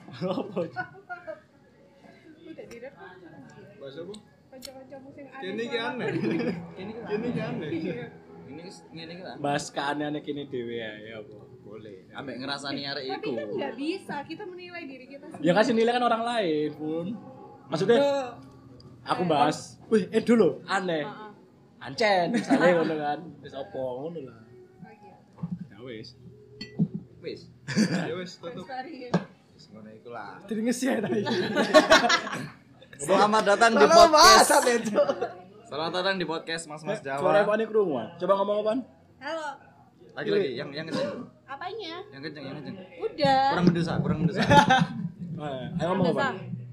Apa? Udah direkam. Bahasa apa? Kanca-kancamu sing aneh. Kene iki aneh. Kene iki aneh. Ini ngene iki lah. Bahas keanehan kene dhewe ya apa? Boleh. Ambek ngrasani arek Tapi iku. kan nggak bisa kita menilai diri kita sendiri. Ya kasih nilai kan orang lain, Pun. Maksudnya aku bahas, wih, dulu aneh. Heeh. Ancen, misalnya ngono kan. Wis apa ngono lah. Oh, iya. Ya wis. Wis. Ya wis tutup. Lestari. Wis ngono iku lah. Jadi ngesi ya tadi. Selamat datang di podcast. Selamat datang di podcast Mas Suara Jawa. apa nih kerungu? Coba ngomong apaan? Halo. Lagi yang kenceng. Apanya? Yang kenceng. Udah. Kurang mendesak. Ayo ngomong apa?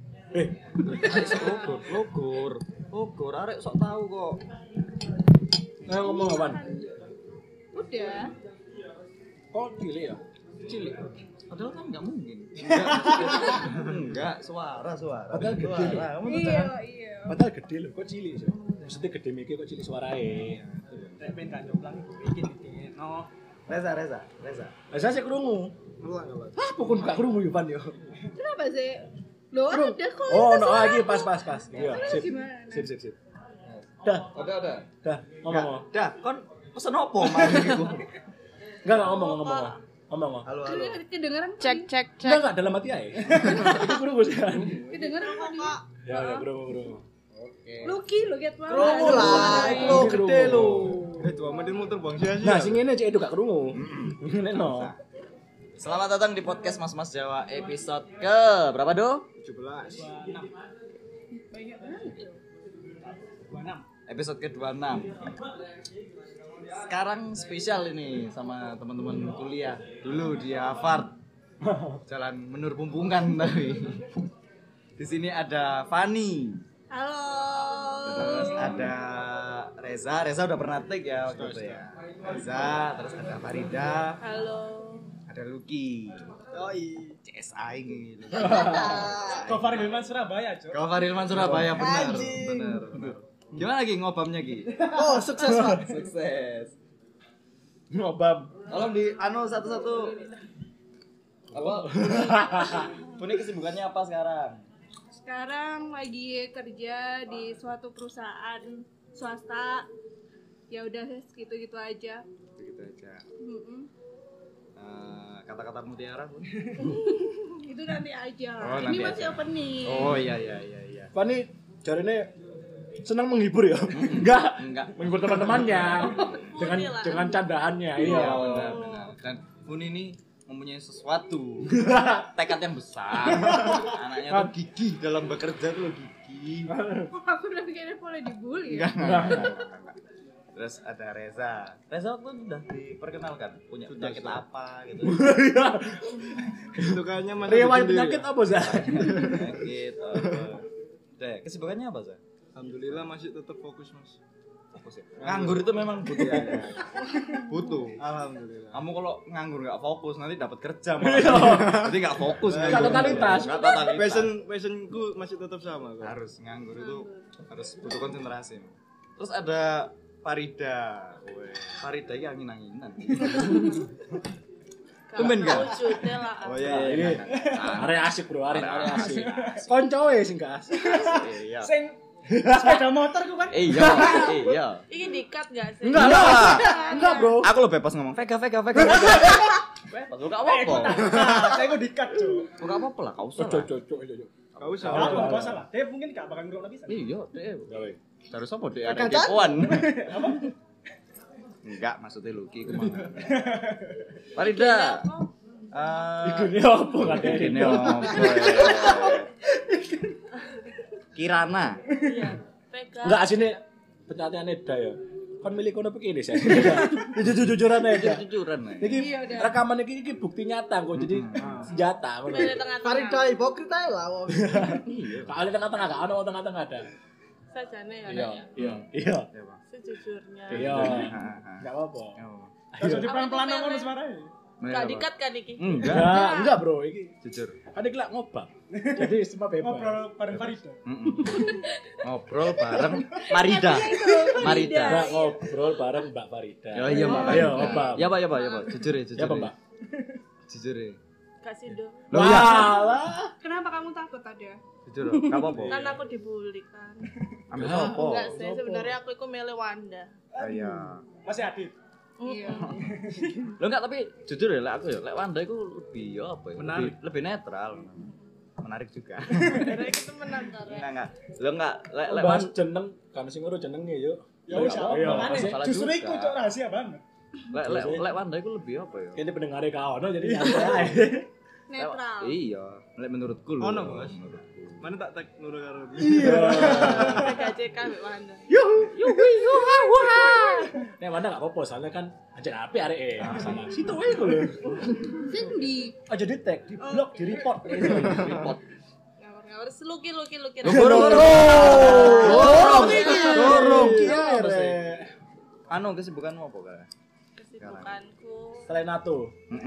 Logor, arek sok tahu kok. Ayo ngomong apa? Udah. Kok cilik ya? Cilik. Padahal kan enggak mungkin. Enggak, suara. Padahal gede. Kamu tuh Iya, jangan. iya. Padahal gede loh, kok cilik sih? Maksudnya gede mikir kok cilik suarae. Nek ben gak jomplang iki dikekno. Reza. Lah saya sih kerungu. Ulang apa? Ah, pokoknya gak kerungu Yupan yo. Kenapa sih? Loh, ada kok. Oh, itu no suara. lagi pas. Iya, Terus gimana? sip. Dah, Ada. ngomong. Dah, kon pesen opo malam iku? Enggak ngomong. Ngomong. Halo. Kedengeran Cek. Enggak dalam hati aja. Itu kerungu sih. Kedengeran kok. Ya, kerungu. Oke. Lucky lo get banget. Kerungu lah, lo gede lo. 2 menit muter Bang sia-sia. Nah, sing ngene cek itu gak kerungu. Ngene no. Selamat datang di podcast Mas Jawa episode ke berapa, Do? 17. Banyak banget. 26. Episode ke-26. Sekarang spesial ini sama teman-teman kuliah. Dulu di Harvard. Jalan Menur Pumpungkan tapi. Di sini ada Fani. Halo. Terus ada Reza udah pernah take ya waktu itu ya. Reza, terus ada Farida, Halo. ada Lucky. Yoi. CSI gitu. Cover Hilman Surabaya, Cok. Kau Farilman Surabaya benar. Anjing. Benar. Gimana Ki ngobamnya Ki? Oh, sukses, Pak. Sukses. Ngobam. Tolong di satu-satu. Apa? Punya kesibukannya apa sekarang? Sekarang lagi kerja di suatu perusahaan swasta. Ya udah gitu-gitu aja. Begitu aja. Mm-mm. Kata-kata mutiara pun. Itu nanti aja. Oh, Ini nanti masih aja. opening. Oh iya. Fani jarine senang menghibur ya? Enggak. Menghibur teman-temannya dengan candaannya. Iya, Iya. benar. Dan Funi ini mempunyai sesuatu tekad yang besar. Anaknya tuh gigih dalam bekerja tuh gigih. Aku udah kayaknya boleh dibully. Enggak. Terus ada Reza waktu itu udah diperkenalkan punya penyakit apa gitu. Itu kayaknya masih Riwayat sendiri penyakit ya? apa, Zah? Penyakit apa. Deh, kesibukannya apa, Za? Alhamdulillah masih tetap fokus, Mas. Fokus ya. Nganggur itu memang butuh. Butuh. Alhamdulillah. Kamu kalau nganggur nggak fokus nanti dapat kerja malah. Jadi nggak fokus. Nggak nganggur. totalitas. Nggak totalitas. Passionku masih tetap sama kok. Harus nganggur itu harus butuh konsentrasi. Terus ada Farida. Farida ini angin-anginan. Tumben gak? Wujudnya lah. Oh Ini iya. area asik, Bro. Area asik. Koncoe sing gak asik. Iya. Sing sepeda motor ku kan. Iya. Ini di-cut gak sih? Enggak lah. Enggak, Bro. Aku lo bebas ngomong Vega. Bebas. Enggak apa-apa. Saya kok dikat, Cok. Enggak apa-apa lah, kau usah. Cocok. Gak usah. Enggak masalah. Dia mungkin gak bakal ngerokok bisa. Iya, deh. Gawe. Terus apa deh ada kepoan? Enggak, maksudnya Lucky kemana? Farida. Ikune apa katanya? Ini apa? Kirana. Iya. Pega. Enggak asine penyataannya Eda ya. Kan milik kono begini sih. Jujur-jujuran aja. Jujuran nih. Iki Iya, udah. rekaman iki bukti nyata kok. Jadi senjata ngono. Dari tengah-tengah. Farida hipokrit ae lah. wong. Kali tengah-tengah gak ono tengah-tengah ada. Sajane ya. Iya. Naya. Iya. Sejujurnya. Iya. Enggak apa-apa. Jadi pelan-pelan ngomong suaranya. Gak di-cut kan iki? Enggak, Bro, iki. Jujur. Kan iki lak ngobak. Jadi semua bebas. Ngobrol bareng Farida. Ngobrol bareng Marida. Enggak ngobrol bareng Mbak Farida. Oh iya, Mbak. Ayo, ngobak. Ya, Pak. Jujur ya. Ya, Pak, Mbak. Jujur ya. Kasih do. Loh ya. Walah. Kenapa kamu takut ada? Jujur, enggak apa-apa. Kan aku dibully kan. Ambil sopo. Enggak sih, sebenarnya aku itu milih Wanda. Iya. Masih Adit. Iya. Lo enggak, tapi jujur ya, lek aku ya, lek Wanda itu lebih apa ya? Menarik. Lebih netral. Menarik juga. Karena itu menang karena. Enggak. Lo enggak lek Bahas jeneng kan sing ngurus jenenge yo. Ya wis Iya, makane masalah justru juga. iku cok rahasia banget. lek Wanda itu lebih apa ya? Kene pendengar kau ono jadi nyantai. Netral. Iya, lek menurutku lho. Ono, Bos. Menurutku. Mana tak tag Nurul karo. PKCK mbek Wanda. Nek mana enggak apa-apa soalnya kan anjir api areke. Sama situ wae iku lho. Sendi. Aja di tag, di blok, di report. Report. Ngawur luki. Dorong. Iya, Anu kesibukanmu apa kak? Kesibukanku. selain NATO.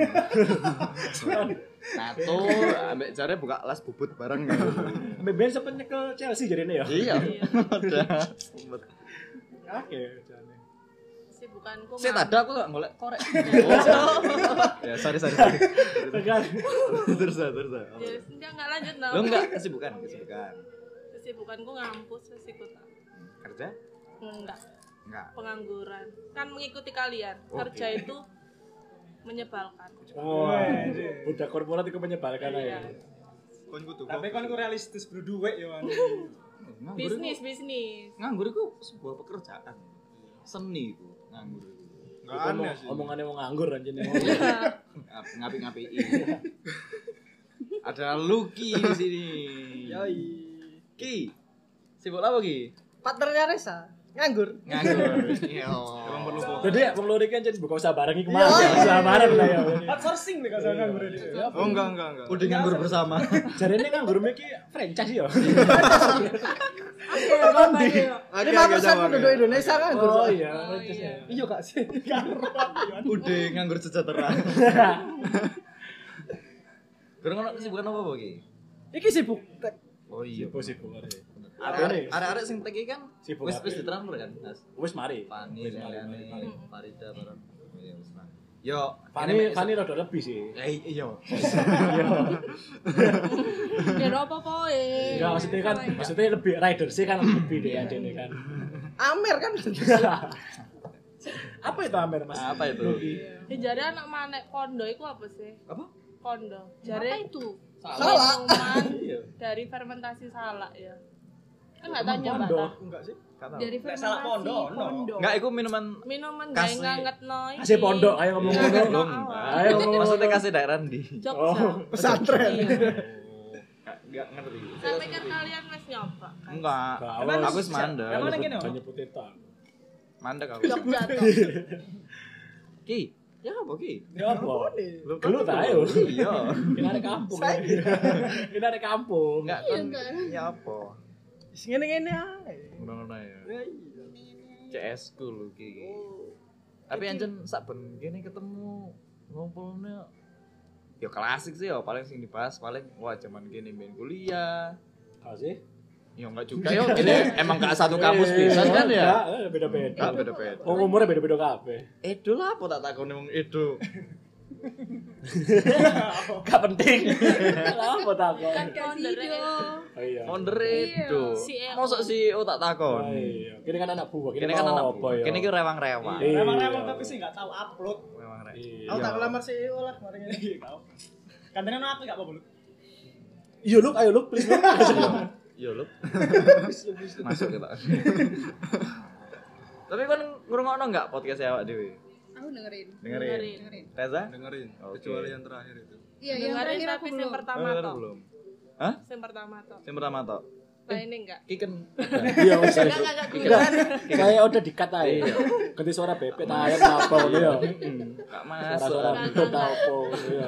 Nato, ambek jare buka las bubut bareng. Ambek ben sempet nyekel Chelsea jarine ya. Iya. Udah. Oke, jane. Kesibukanku. Saya ada aku gak golek korek. Ya, sorry. Tegal. Terus. Ya enggak lanjut no. Lo enggak kesibukan. Kesibukanku ngampus wis iku tak. Kerja? Enggak. Enggak. Pengangguran. Kan mengikuti kalian. Oke. Kerja itu menyebalkan. Oh, budak korporat itu menyebalkan Iya. aja. Kon kudu. Tapi kan ku realistis bro duit ya Wan. Bisnis. Nganggur itu sebuah pekerjaan. Seni itu nganggur itu. Enggak aneh sih. Omongannya mau nganggur anjir. Ngapi-ngapi. Ada Lucky di sini. Yoi. Ki. Sibuk apa Ki? Partnernya Resa nganggur. Nganggur. Iya. Emang perlu fokus. Jadi ya wong lori kan jadi buka usaha bareng iki kemana? Usaha bareng lah ya. Outsourcing nih kalau nganggur ini. Oh enggak. Udah nganggur bersama. Jarene nganggur iki franchise ya. Ini 5% penduduk Indonesia nganggur. Oh iya, franchise ya. Iya kak sih. Udah nganggur sejahtera. Kurang ono kesibukan apa Ki? Iki sibuk. Oh iya. Sibuk. Arek-arek sing teki kan Sibuk wis kabeh. ditransfer kan, Mas. Wis mari. Fani, Leliane, Farida bareng. Iya wis lah. Yo, Fani rada lebih sih. iya. Ya apa poe. Enggak maksudnya lebih rider sih kan lebih deh adene kan. Amer kan. Apa itu Amer Mas? Apa itu? Lucky. Jare anak manek kondo iku apa sih? Apa? Kondo. Apa Jare itu? Salah. minuman Iya. dari fermentasi salak ya. Kan enggak tanya Pondok. Mbak. Enggak sih. Dari Nggak salah fermentasi pondok, no. pondok. Enggak, iku minuman Minuman Kasih. gawe ngangetno iki. Kasih pondok ayo ngomong Ngangetno ngono. belum. awal. Ayo ngomong. Maksudnya kasih daerah di. Jogja. Oh, pesantren. Iya. Enggak ngerti. Saya pikir kalian wis nyoba. Kan? Enggak. Emang Aku wis mandek. Emang nang kene, Banyak puteta. Mandek aku. Jogja toh. Ki, ya apa Ki? Ya apa? Lu Gelut ayo. Iya. Kita ada kampung. Kita ada kampung. Enggak Iya, kan. enggak. Ya apa? Sing ngene-ngene ae. Ngono-ngono ya. CS ku lho Ki. Tapi anjen saben kene ketemu ngumpulnya ya klasik sih ya, paling sing dibahas paling wah zaman kene main kuliah. Apa sih? Ya enggak juga ya, ini emang gak satu kampus pisan kan ya. Enggak, beda-beda. Enggak beda-beda. Oh, umurnya beda-beda kabeh. Edo lah apa tak takoni wong Edo. Gak penting. Apa takon? Kan founder Oh iya. Founder Edo. CEO. Mosok CEO tak Oh, takoni. iya. Kini kan anak buah. Kene kan anak apa buah. ya? Kene ki rewang-rewang. Iya. Remang-remang tapi sih enggak tahu upload. Rewang-rewang. Iya. Aku tak ngelamar CEO lah kemarin ini. Tahu. Kadang aku enggak apa-apa lu. Iya, Luk, ayo Luk, please Luk. Yo lu. Masuk kita. Tapi kan ngrungokno enggak podcast awak dhewe? Aku dengerin. Dengerin. Reza? Dengerin. Oke. Kecuali yang terakhir itu. Iya, yang Dengerin terakhir aku tapi yang belum. pertama toh. Belum. Hah? Yang pertama toh. Yang pertama tok. Nah ini enggak. Ki kan Iya, wis. Enggak Enggak. Kayak udah dikat aja. Iya. Ganti suara bebek ta ayam apa ngono ya. Kak masuk. Suara bebek ta apa ya.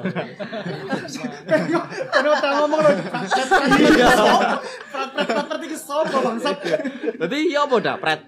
Kan udah ngomong lo. Iya. Prat iki sopo bangsat. Dadi ya apa dah pret.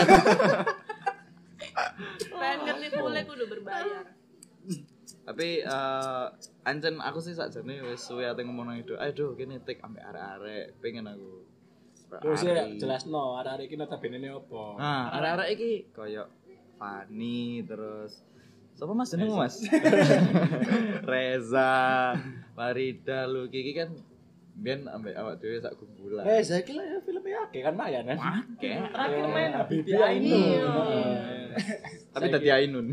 Pengen ngerti boleh kudu berbayar. Tapi ancen aku sih sakjane wis suwe ate ngomong nang itu. Aduh, kene tik ambek arek-arek pengen aku. Terus ya jelasno arek-arek iki notabene apa. Nah, arek-arek iki koyo Fani terus Siapa Mas jenengmu Mas? Reza, Farida lu Kiki kan biyen ambek awak dhewe sak gumpulan. Saya kira ya filmnya akeh kan mayan kan. Oke. Terakhir main Bibi Iya. Tapi tadi Ainun.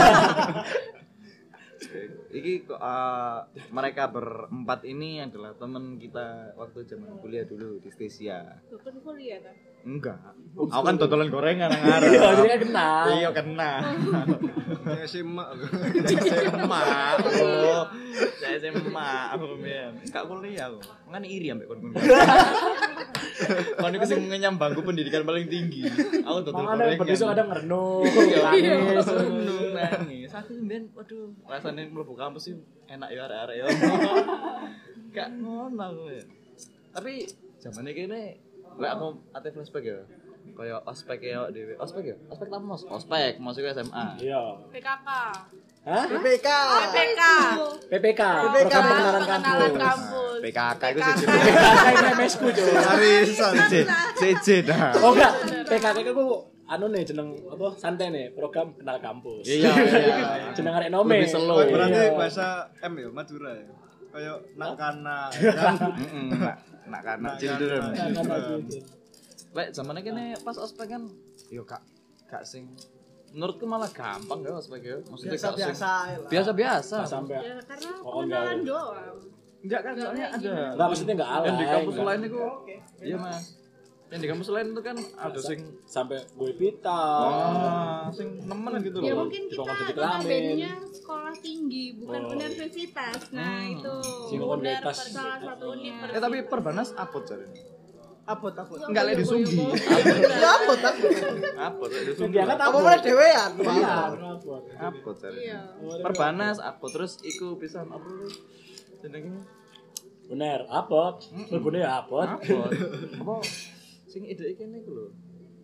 Iki kok mereka berempat ini adalah teman kita waktu zaman kuliah dulu di Stesia. Bukan kuliah kan? Enggak. Aku kan dodolan gorengan nang arep. Iya, jadi kan kenal. Iya kena. Ya SMA aku. SMA. Oh, saya SMA aku men. Enggak kuliah aku. Ngene iri ambek kon-kon. Kon iku sing ngenyam bangku pendidikan paling tinggi. Aku dodol Makanya gorengan. berdesok kadang ngerenung, Iya, nangis. nangis. Aku mbien waduh, rasane mlebu kampus sih enak ya arek-arek ya. Gak ngono aku ya. Tapi zaman iki kene lek aku ate flashback ya. Kayak ospek ya dhewe. Ospek ya? Ospek ta Mos? Ospek, masuk SMA. Iya. PKK. Hah? PPK. PPK. PPK, program pengenalan kampus. kampus. PKK itu sih. PKK ini MSku, Cuk. Arisan. CC dah. Oh enggak, PKK itu anu nih jeneng apa santai nih, program kenal kampus. Iya. Jeneng arek nome. Lebih slow. Oh, berarti Iya. bahasa M ya, Madura ya. Kayak nak kana kan. Nak kan Nak children. kana. Lek zamane kene pas ospek kan yo gak sing menurutku malah gampang ya ospek ya. Maksudnya gak sing Biasa-biasa. biasa-biasa. Pas sampai Ya karena Oh, kenalan enggak. doang. Enggak kan soalnya ada. enggak maksudnya enggak alay. Yang di kampus enggak. lain itu iya Mas. Yang di kampus lain itu kan ada sing sampai gue pita. sing nemen gitu Ya loh. mungkin kita Dipotong jadi kita kelamin. bandnya sekolah tinggi bukan Oh. universitas. Nah itu. Sing universitas. Salah satunya. Tapi perbanas apot cari. Apot. Enggak lek disunggi. Ya apot. Apot lek disunggi. Dia kan Apa boleh dhewean? Iya. Apot cari. Iya. Perbanas apot terus iku pisan apa lu? Jenenge Bener, apot. Berbunyi apot. apot. Apa sing ide kene iku lho.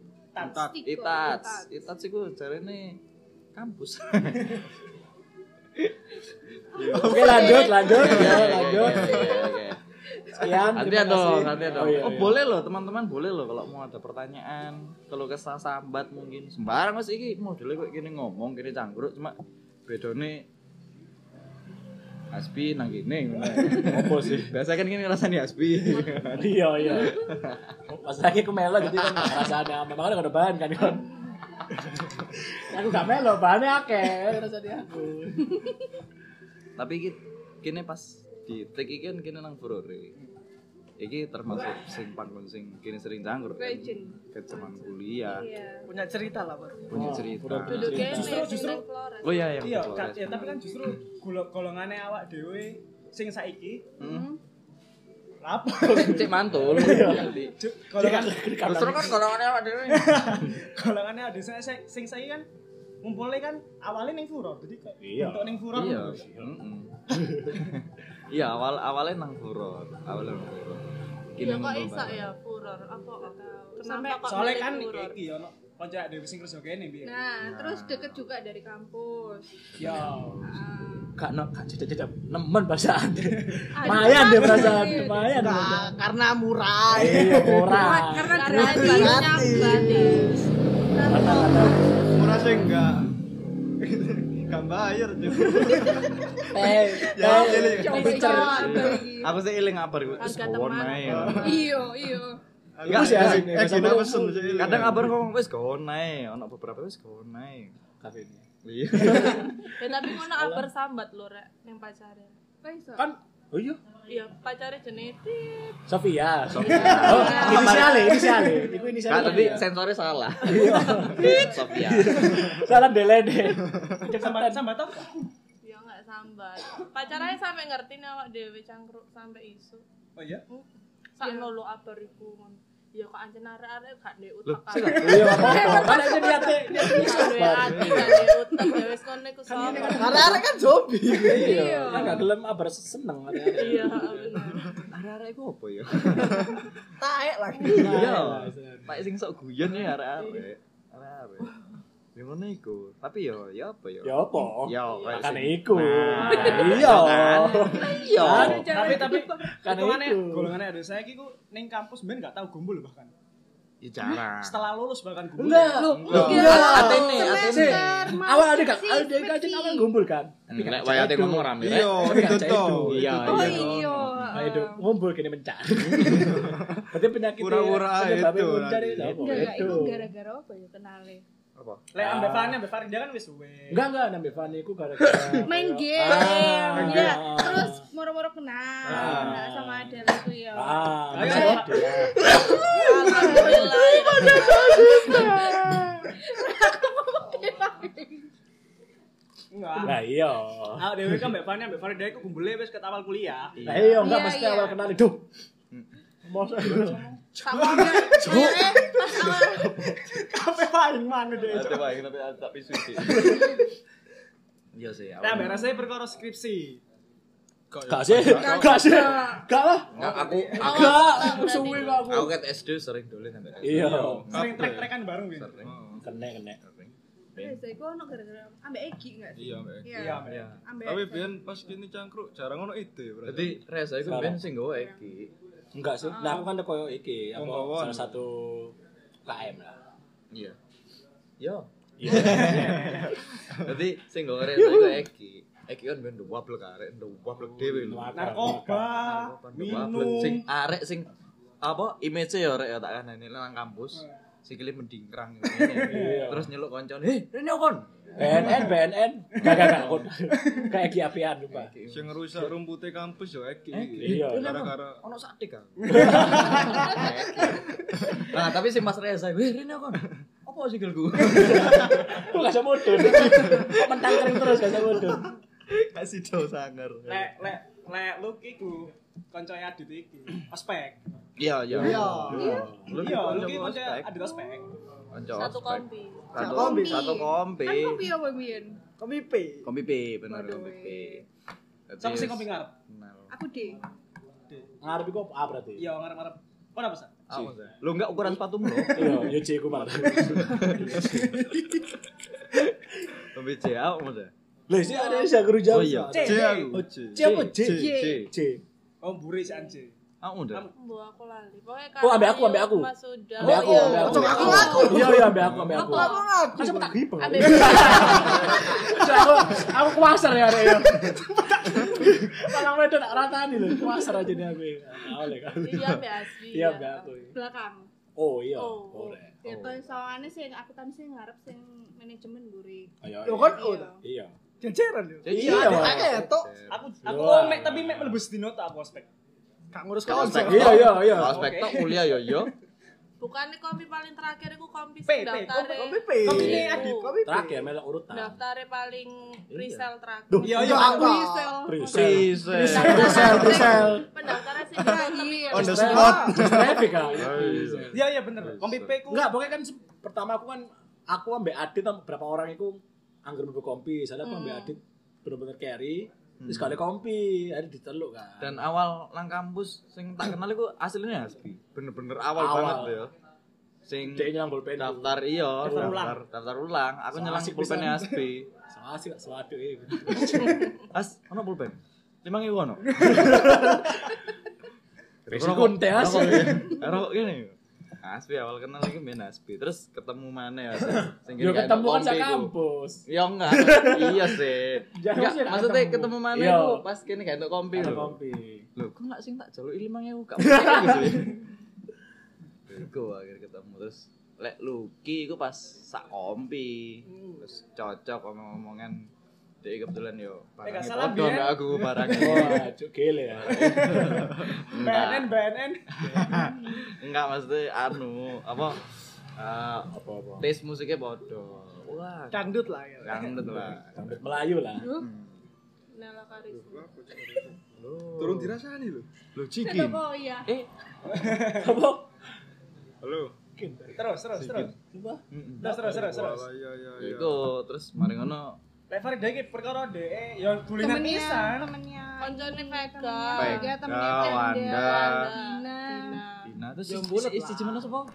Itats iku jarene kampus. Oke, lanjut ya, lanjut. Oke. Sekian. Gantian dong. Oh, iya. boleh loh teman-teman, boleh loh kalau mau ada pertanyaan, kalau kesah sambat mungkin sembarang Mas iki modele kok gini ngomong, gini cangkruk cuma bedone Hasbi nang kene ngono. Opo sih? Biasa kan gini rasane Hasbi. Iya. Pas lagi aku melo jadi kan rasanya aman. Makanya ada bahan kan kan. Aku gak melo, bahannya akeh rasanya aku. Tapi kini pas di take iki kan kini nang Furore. Iki termasuk sing panggon sing kini sering cangkruk. Kan? Legend. Ke zaman kuliah, Iya. Punya cerita lah, Pak. punya cerita. Duduk kene Justru- Flores. Oh iya yang Iya, di Flores. ya, tapi kan justru golongannya awak dhewe sing saiki apa? Cek mantul. Golongan Justru kan golongannya awak dhewe. golongannya ada sing saiki kan ngumpulnya kan awalnya ning Furor. Jadi kayak Iya. untuk ning Furor. Iya. Iya, awalnya nang Furor. Ya kok iso ya furor apa sampai kok Soalnya milih kan furor? iki ono kanca dhewe sing kerja kene piye. Nah, terus deket juga dari kampus. Yo. Gak jeda nemen perasaan. Lumayan deh perasaan, lumayan. Karena murah. Iya, murah. Karena Gratis. gratis. Murah sih enggak. Enggak bayar juga. Ya, jadi Aku sih eling ngabar iku wis Harga gawon teman. ae. Iya. Enggak sih asik. Gina pesen sih. Kadang ngabar ngomong wis gawon ae, ono beberapa wis gawon ae. kafe ini. Iya. Ya tapi ngono kabar sambat lho rek ning pacare. Kok iso? Kan, oh iya, Iya, pacare genetik. Sofia. Oh, inisialnya. Iku Kak inisialnya. tadi sensornya salah. Sofia. Salah delede. Sambat apa? Ya enggak sambat. Pacarnya sampe ngerti nih awak dhewe cangkruk sampe isu. Oh iya. Sakno lo kabar iku ngono. Ya kok ancen arek-arek gak ndek Loh, utek sih kan. Iya, apa-apa. Kan aja niatnya. Gak ndek ati, gak ndek utek ya wis ngono iku sopo. Arek-arek kan zombie. Iya. Kan gak gelem abar seneng. Iya, bener. Arek-arek iku apa ya? Taek lagi. Iya. Pak sing sok guyon ya arek-arek. Arek-arek. Ya ngono iku. Tapi ya apa ya? Ya apa? Ya kayak Kan sing- iku. Nah, Iya. Iya. Tapi Kan golongannya itu. golongannya ada saya ki ku ning kampus ben gak tau gombol bahkan. Ya jarang. Setelah lulus bahkan gumbul. Enggak. Atene. Awal ada kan awal ngumpul kan. Nek wayate ngomong rame. Iya, itu toh. Iya. Oh iya. Ayo ngumpul kene mencari. Berarti penyakit Pura-pura itu mencari nanti. apa? Enggak, Itu. itu gara-gara apa ya kenale? Apa? Lek ambek Farida kan wis suwe. Enggak nambah Fanny ku gara-gara Main game. main Ya, game. terus moro-moro kenal sama Adele itu ya. Ayo, Ayo. Alhamdulillah. Enggak. Nah iya. Ah, dewe kan ambek Farida iku gumbule wis ket awal kuliah. Nah iya enggak Iya, mesti iya. awal kenal itu. Masa Sama kayak pas awal Kafe paling mana deh. Ada wae tapi tak pisu sih. Iya sih. Nah, ambek rasane perkara skripsi. Gak sih. Gak lah. Aku Gak suwe kok aku. aku ket SD sering dolen sampe. Iya. Sering trek-trekan bareng gitu. Kene. saya iku ono gara-gara ambek Egi enggak sih? Iya, Mbak. Iya, Mbak. Iya. Ambek Tapi biyen pas kini cangkruk jarang ono ide berarti. Jadi res aku ben sing nggawa iki. Enggak sih. Nah aku kan koyo iki apa Penggawa. salah satu KM lah. Iya. Yo. Iya. Jadi sing nggawa res aku iki. Iki kan ben wablek arek, wablek dhewe lho. Narkoba, minum. Sing arek sing apa image ya arek ya tak kanane nang kampus. Sikile mendingkrang ngene. Terus nyeluk koncone, "Heh, rene kon." BNN. Gak aku. Kayak Egi apian lupa. Sing ngerusak rumpute kampus yo iki. Iya. Gara-gara Ono sadik kan. Nah, tapi si Mas Reza, "Weh, rene kon." Apa sikilku? Kok gak bisa mudun. Kok mentang kering terus gak bisa mudun. Kasih do sangar. Lek lu iku koncoe Adit iki. Ospek. Iya. Iya, lu iki koncoe Adit ospek. Satu kompi. Satu kompi. kompi. Kan kopi apa biyen? Kopi P. Kompi P, bener Waduh, kompi P. Sama sing kopi ngarep. Aku deh. Ngarep iku A berarti. Iya, ngarep-ngarep. Oh, apa sih? Lu enggak ukuran sepatumu lo? Iya, yo C ku malah. Kompi C apa maksudnya? Lah sih ada sih guru jauh. Oh iya. C. C aku. Oh, C apa J? C. Oh, mburi si Anje. Aku udah. Bu aku lali. Pokoknya Oh, ambek aku. Mas sudah. Ambek aku, ambek aku. Iya, ambek aku. Masa tak gripeng. Aku kuasar ya arek yo. Malang wedok tak ratani lho, kuasar aja nih aku. Oleh kan. Iya, ambek Asbi. Iya, ambek aku. Belakang. Oh iya. Oh. Boleh. Ya to sawangane sing akuntansi ngarep sing manajemen mburi. Ayo. Yo kan Iya. jajaran yo. Iya. Aku mek tapi mek mlebu sedino tak aku ospek. Gak ngurus Ospek. Iya. Ospek tok kuliah yo. Bukannya kompi paling terakhir itu kompi P, daftar. Kopi ini Adit. Terakhir melok urutan. Daftarnya paling resell terakhir. Duh, Iya, aku. Presale. Pendaftaran sih tapi On the spot. Traffic kan. Iya, bener. Kopi P ku. Enggak, pokoknya kan pertama aku ambek Adit sama beberapa orang itu anggar mlebu kompi. Soalnya aku ambek Adit bener-bener carry. Terus kali kompi, ada diteluk kan. Dan awal nang kampus sing tak kenal iku aslinya Hasbi. Bener-bener awal Awal. banget lho ya. Sing Dia nyelang pulpen. daftar iya, Daftar ulang. Aku nyelang Asik pulpennya pisan. Hasbi. Asik suatu ya. As, ono pulpen. 5.000 ono. Besikun teh asik. Karo ngene. Hasbi awal kenal lagi main Hasbi. Terus ketemu mana ya? Sing Yo gak ketemu kan kompi sak ku. kampus. Ya enggak. Iya sih. Jangan Enggak, sih nak maksudnya ketemu. ketemu mana Iya. itu pas kene gak entuk kompi Ada lho. kompi. Loh, kok enggak sing tak jaluki 5.000 gak mungkin gitu ya. Iku akhir ketemu terus lek Luki iku pas sak kompi. Terus cocok ngomong-ngomongan dia kebetulan yo gak barangnya salah, podo Bian. mbak aku barangnya. Wah, cuk gele ya. BNN. Enggak maksudnya anu apa Apa-apa. taste musiknya podo. Wah, Dangdut lah ya. dangdut lah. Sampai Melayu lah. Nela Karisma. Turun dirasani lho. Lo ciki. Kenapa iya? Apa? Halo. Terus. Coba. Terus. Iya. Iku terus mari ngono Lek Farida iki perkara dhek ya dulinan pisan. Temennya Koncone Vega. Vega, temennya Vega, Tenda, Wanda. Dina. Dina terus Yang bulet isi lah. gimana sapa?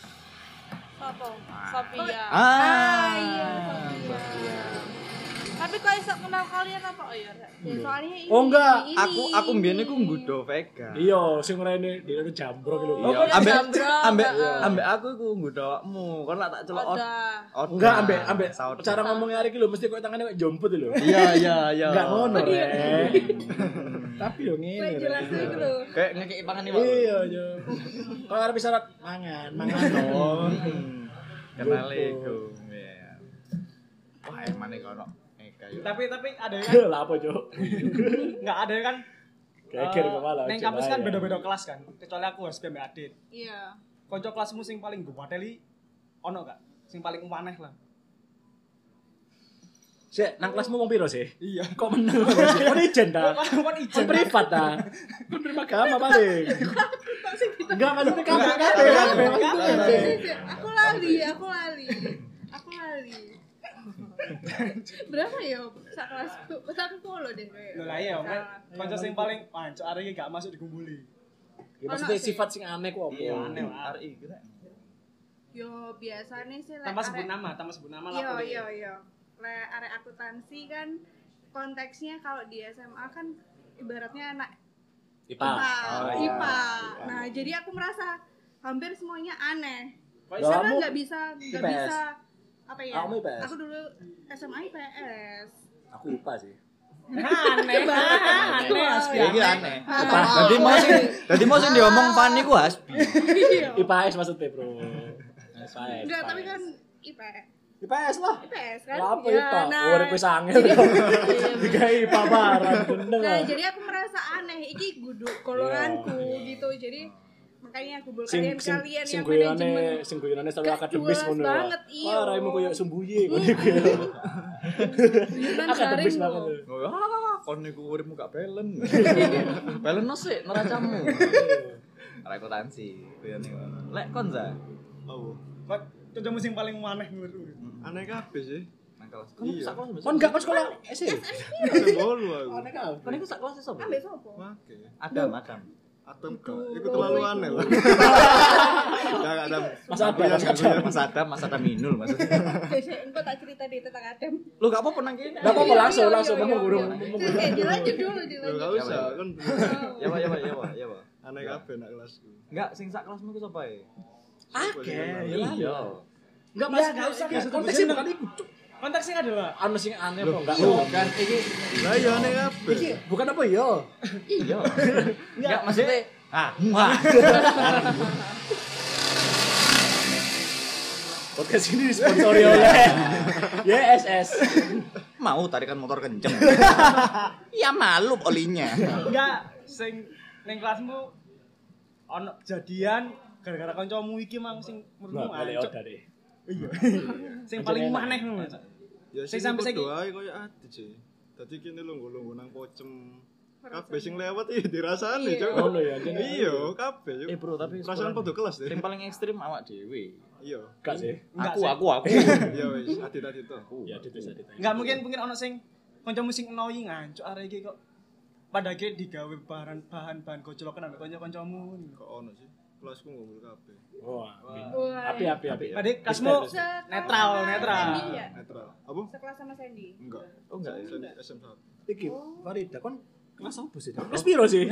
Sopo? Sophia. Ah, iya, Sophia. Tapi Tapi kok iso kenal kalian apa ya? Ya soalnya ini. Oh, enggak. ini. Aku mbiyen iku nggudo Vega. Iya, sing rene di jambro ki lho. Iya, iya, ambek jambro. ambek aku iku nggudo awakmu. Kon lak tak celok Udah. Enggak, ambek Saudara. cara ngomongnya hari ki lho mesti koyo tangane koyo jomput lho. Iya. Enggak ngono, Rek. Tapi yo ngene. Kayak jelas Rek. iku lho. Kayak ngekeki pangan iki, Pak. Iya, yo. Kalau arep syarat mangan dong. Kenal iku. Iya. Wah, emane kono. Tapi ada kan Lah apa, Cuk? enggak ada kan Geger kepala. neng kampus kan beda-beda kelas kan. Kecuali aku HSP Mbak Adit. Iya. Konco kelasmu sing paling gowateli ono gak? Sing paling aneh lah. Sik, nang kelasmu wong piro sih? Iya. Kok meneng sih? Kon ijen ta? Kon ijen. Kon privat ta? Kon prima agama paling. Enggak maksudnya kabeh Aku lali. Berapa ya sak kelasku? Sak polo deh kayak. Lho lah iya, konco sing paling pancuk arek iki gak masuk digumbuli. Ya maksudnya sifat sing aneh ku opo? Iya, aneh lah. RI kita. Yo biasanya sih Tanpa sebut nama lah. Iya. Lek arek akuntansi kan konteksnya kalau di SMA kan ibaratnya anak IPA. IPA. Nah, jadi aku merasa hampir semuanya aneh. Kok Lah, Karena kamu nggak bisa IPS? apa ya? Kamu IPS? Aku dulu SMA IPS. Aku IPA sih. aneh. Asli Iki aneh. aneh. Dadi mau sing diomong Pan niku Hasbi. IPS maksudnya, Bro. IPS. Enggak, tapi kan IPS. IPS lah. IPS kan? Lah apa Ya, IPA? nah, Urip wis angel. Digawe IPA barang bener. Nah, jadi aku merasa aneh. Iki guduk golonganku gitu. Jadi makanya aku bol kalian yang manajemen. Sing guyonane selalu Gak akademis jelas ngono. banget, iya. Wah, raimu koyo sumbuye ngono iku. Guyonan Akademis garing banget. loh. Kon niku uripmu gak belen. Belen sik neracamu. Arek akuntansi. Lek kon za. Oh, Kok contohmu sing paling aneh menurutmu? aneh kabeh sih. Nang kelas. Iya. Sak kelas mbak. Kon gak kon sekolah SD. Sembolu aku. Aneh kabeh. Kon iku sak kelas sapa? Ambek sopo? Oke. Adam. Atom gak. Iku terlalu aneh lah. Enggak ada. Mas Adam minul maksudnya. Engko tak cerita deh tentang Adem. Lu gak apa-apa nang kene. Gak apa-apa langsung Iya. kamu gurung. Dilanjut dulu, Enggak dilanjut. usah kan. Ya, Pak. Aneh kabeh nak kelasku. Enggak, sing sak kelasmu ku sapa e? Iya. Enggak mas, enggak usah. Konteksnya bukan iku. Konteksnya adalah Anu sing aneh kok enggak. Bukan iki. Lah iya aneh kabeh. Iki bukan apa ya? Iya. Enggak maksudnya wah. Podcast ini disponsori oleh YSS. Mau tarikan motor kenceng. Ya malu olinya. enggak sing ning kelasmu ono kejadian gara-gara kancamu iki mang sing menurutmu Boleh ancuk. order deh. Iya. Sing paling Enak. aneh ngono. Ya Sing sing sampe sampe saiki. doae koyo adit sih. Dadi kene lungguh-lungguh nang pocem. Kabeh sing lewat iki dirasani, Cuk. Ngono ya, jadi. Iya, kabeh, Cuk. Bro, tapi perasaan padha kelas deh. Sing paling ekstrim awak dhewe. Iya. Enggak sih. Enggak Aku. Ya wis, adit-adit to. Ya dit. Enggak mungkin ono sing kancamu sing annoying ancuk arek iki kok pada akhirnya digawe bahan gojlokan ambek kanca-kancamu. Kok ono sih? Kelasku ngumpul kabeh. Wah. Wah. Api. Adik kelasmu netral. Sandy ya? Netral. Apa? Sekelas sama Sandy. Enggak. Oh enggak. SM1. Iki Farida kon kelas apa sih? Kelas piro sih?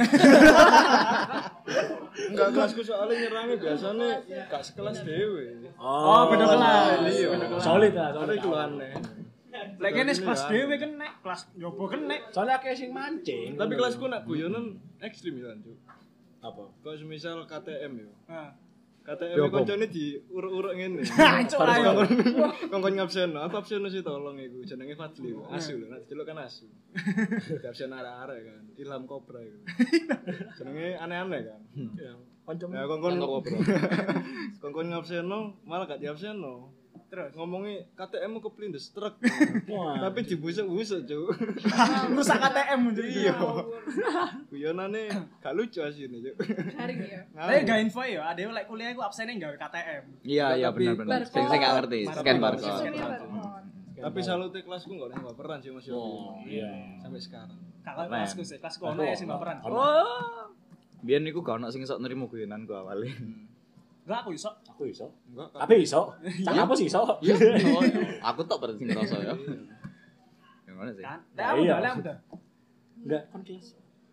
Enggak, kelasku soalnya nyerangnya biasanya gak sekelas dhewe. Oh, beda kelas. Iya. Solid lah, Ada solid. iku aneh. Lek kene kelas dhewe kene kelas nyoba kene. Soalnya akeh sing mancing. Tapi kelasku nak guyonan ekstrim ya, Cuk. apa? Kok semisal KTM yo. Nah, KTM Yo, koncone diuruk-uruk ngene. ancuk ayo. Kongkon ngabsen, aku absen sih tolong iku jenenge Fadli. Asu lho, nek delok kan asu. Absen arek-arek kan. Ilham Kobra iku. Jenenge aneh-aneh kan. Ya, kancamu. Ya kongkon ngabseno malah gak diabseno. Terus Ngomongnya KTM mu keplindes truk. Wah. Tapi dibusuk-busuk, Cuk. rusak KTM jadi. Iya. Guyonane gak lucu asine, Cuk. Garing ya. Tapi gak info ya, ada lek kuliah iku absennya gawe KTM. Iya benar. Sing gak ngerti, scan barcode. Sistemnya barcode. Tapi salute kelasku gak ada yang baperan sih Mas Yogi. Oh, iya. Sampai sekarang. Kakak kelasku sih, kelasku ono ya sing baperan. Oh. Biyen niku gak ono sing iso nrimo guyonanku awale. Enggak aku iso. Aku iso. Enggak. Tapi iso. Sak apa sih iso? Iya. Aku tok berarti sing ngerasa ya. Ya ngono sih. Kan? Nah, Lah iya. udah. Enggak kon kelas.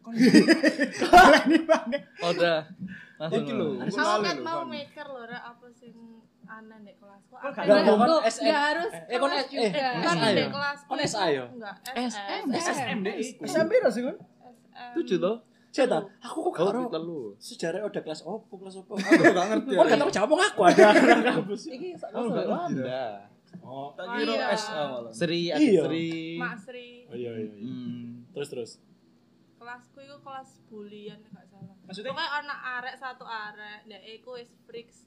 Ini banget. Udah. Langsung. Iki lho. Aku kan mau mikir lho rek apa sing aneh nek kelasku. Kok gak Enggak, ada? kon Tuh, SM. nggak harus Kon kelas eh juga. Kan SA nek ya? kelasku. Kon SA ya? Enggak, SSM deh. iku. SMP ra sih, Kun? SM. 7 toh? Ceta, aku kok Oh, karo telu. sejarah udah kelas opo, kelas opo. Aku gak ngerti. Kok gak tau jawab aku ada anak kampus. Iki sak Oh, gak ngerti. Wanda. Oh, Tak kira Iya. SA malah. Sri, Iya. Sri. Mak Sri. oh iya iya. iya. Terus. Kelasku iku kelas bulian nek gak salah. Maksudnya? Pokoknya anak arek satu arek, nek iku wis freaks.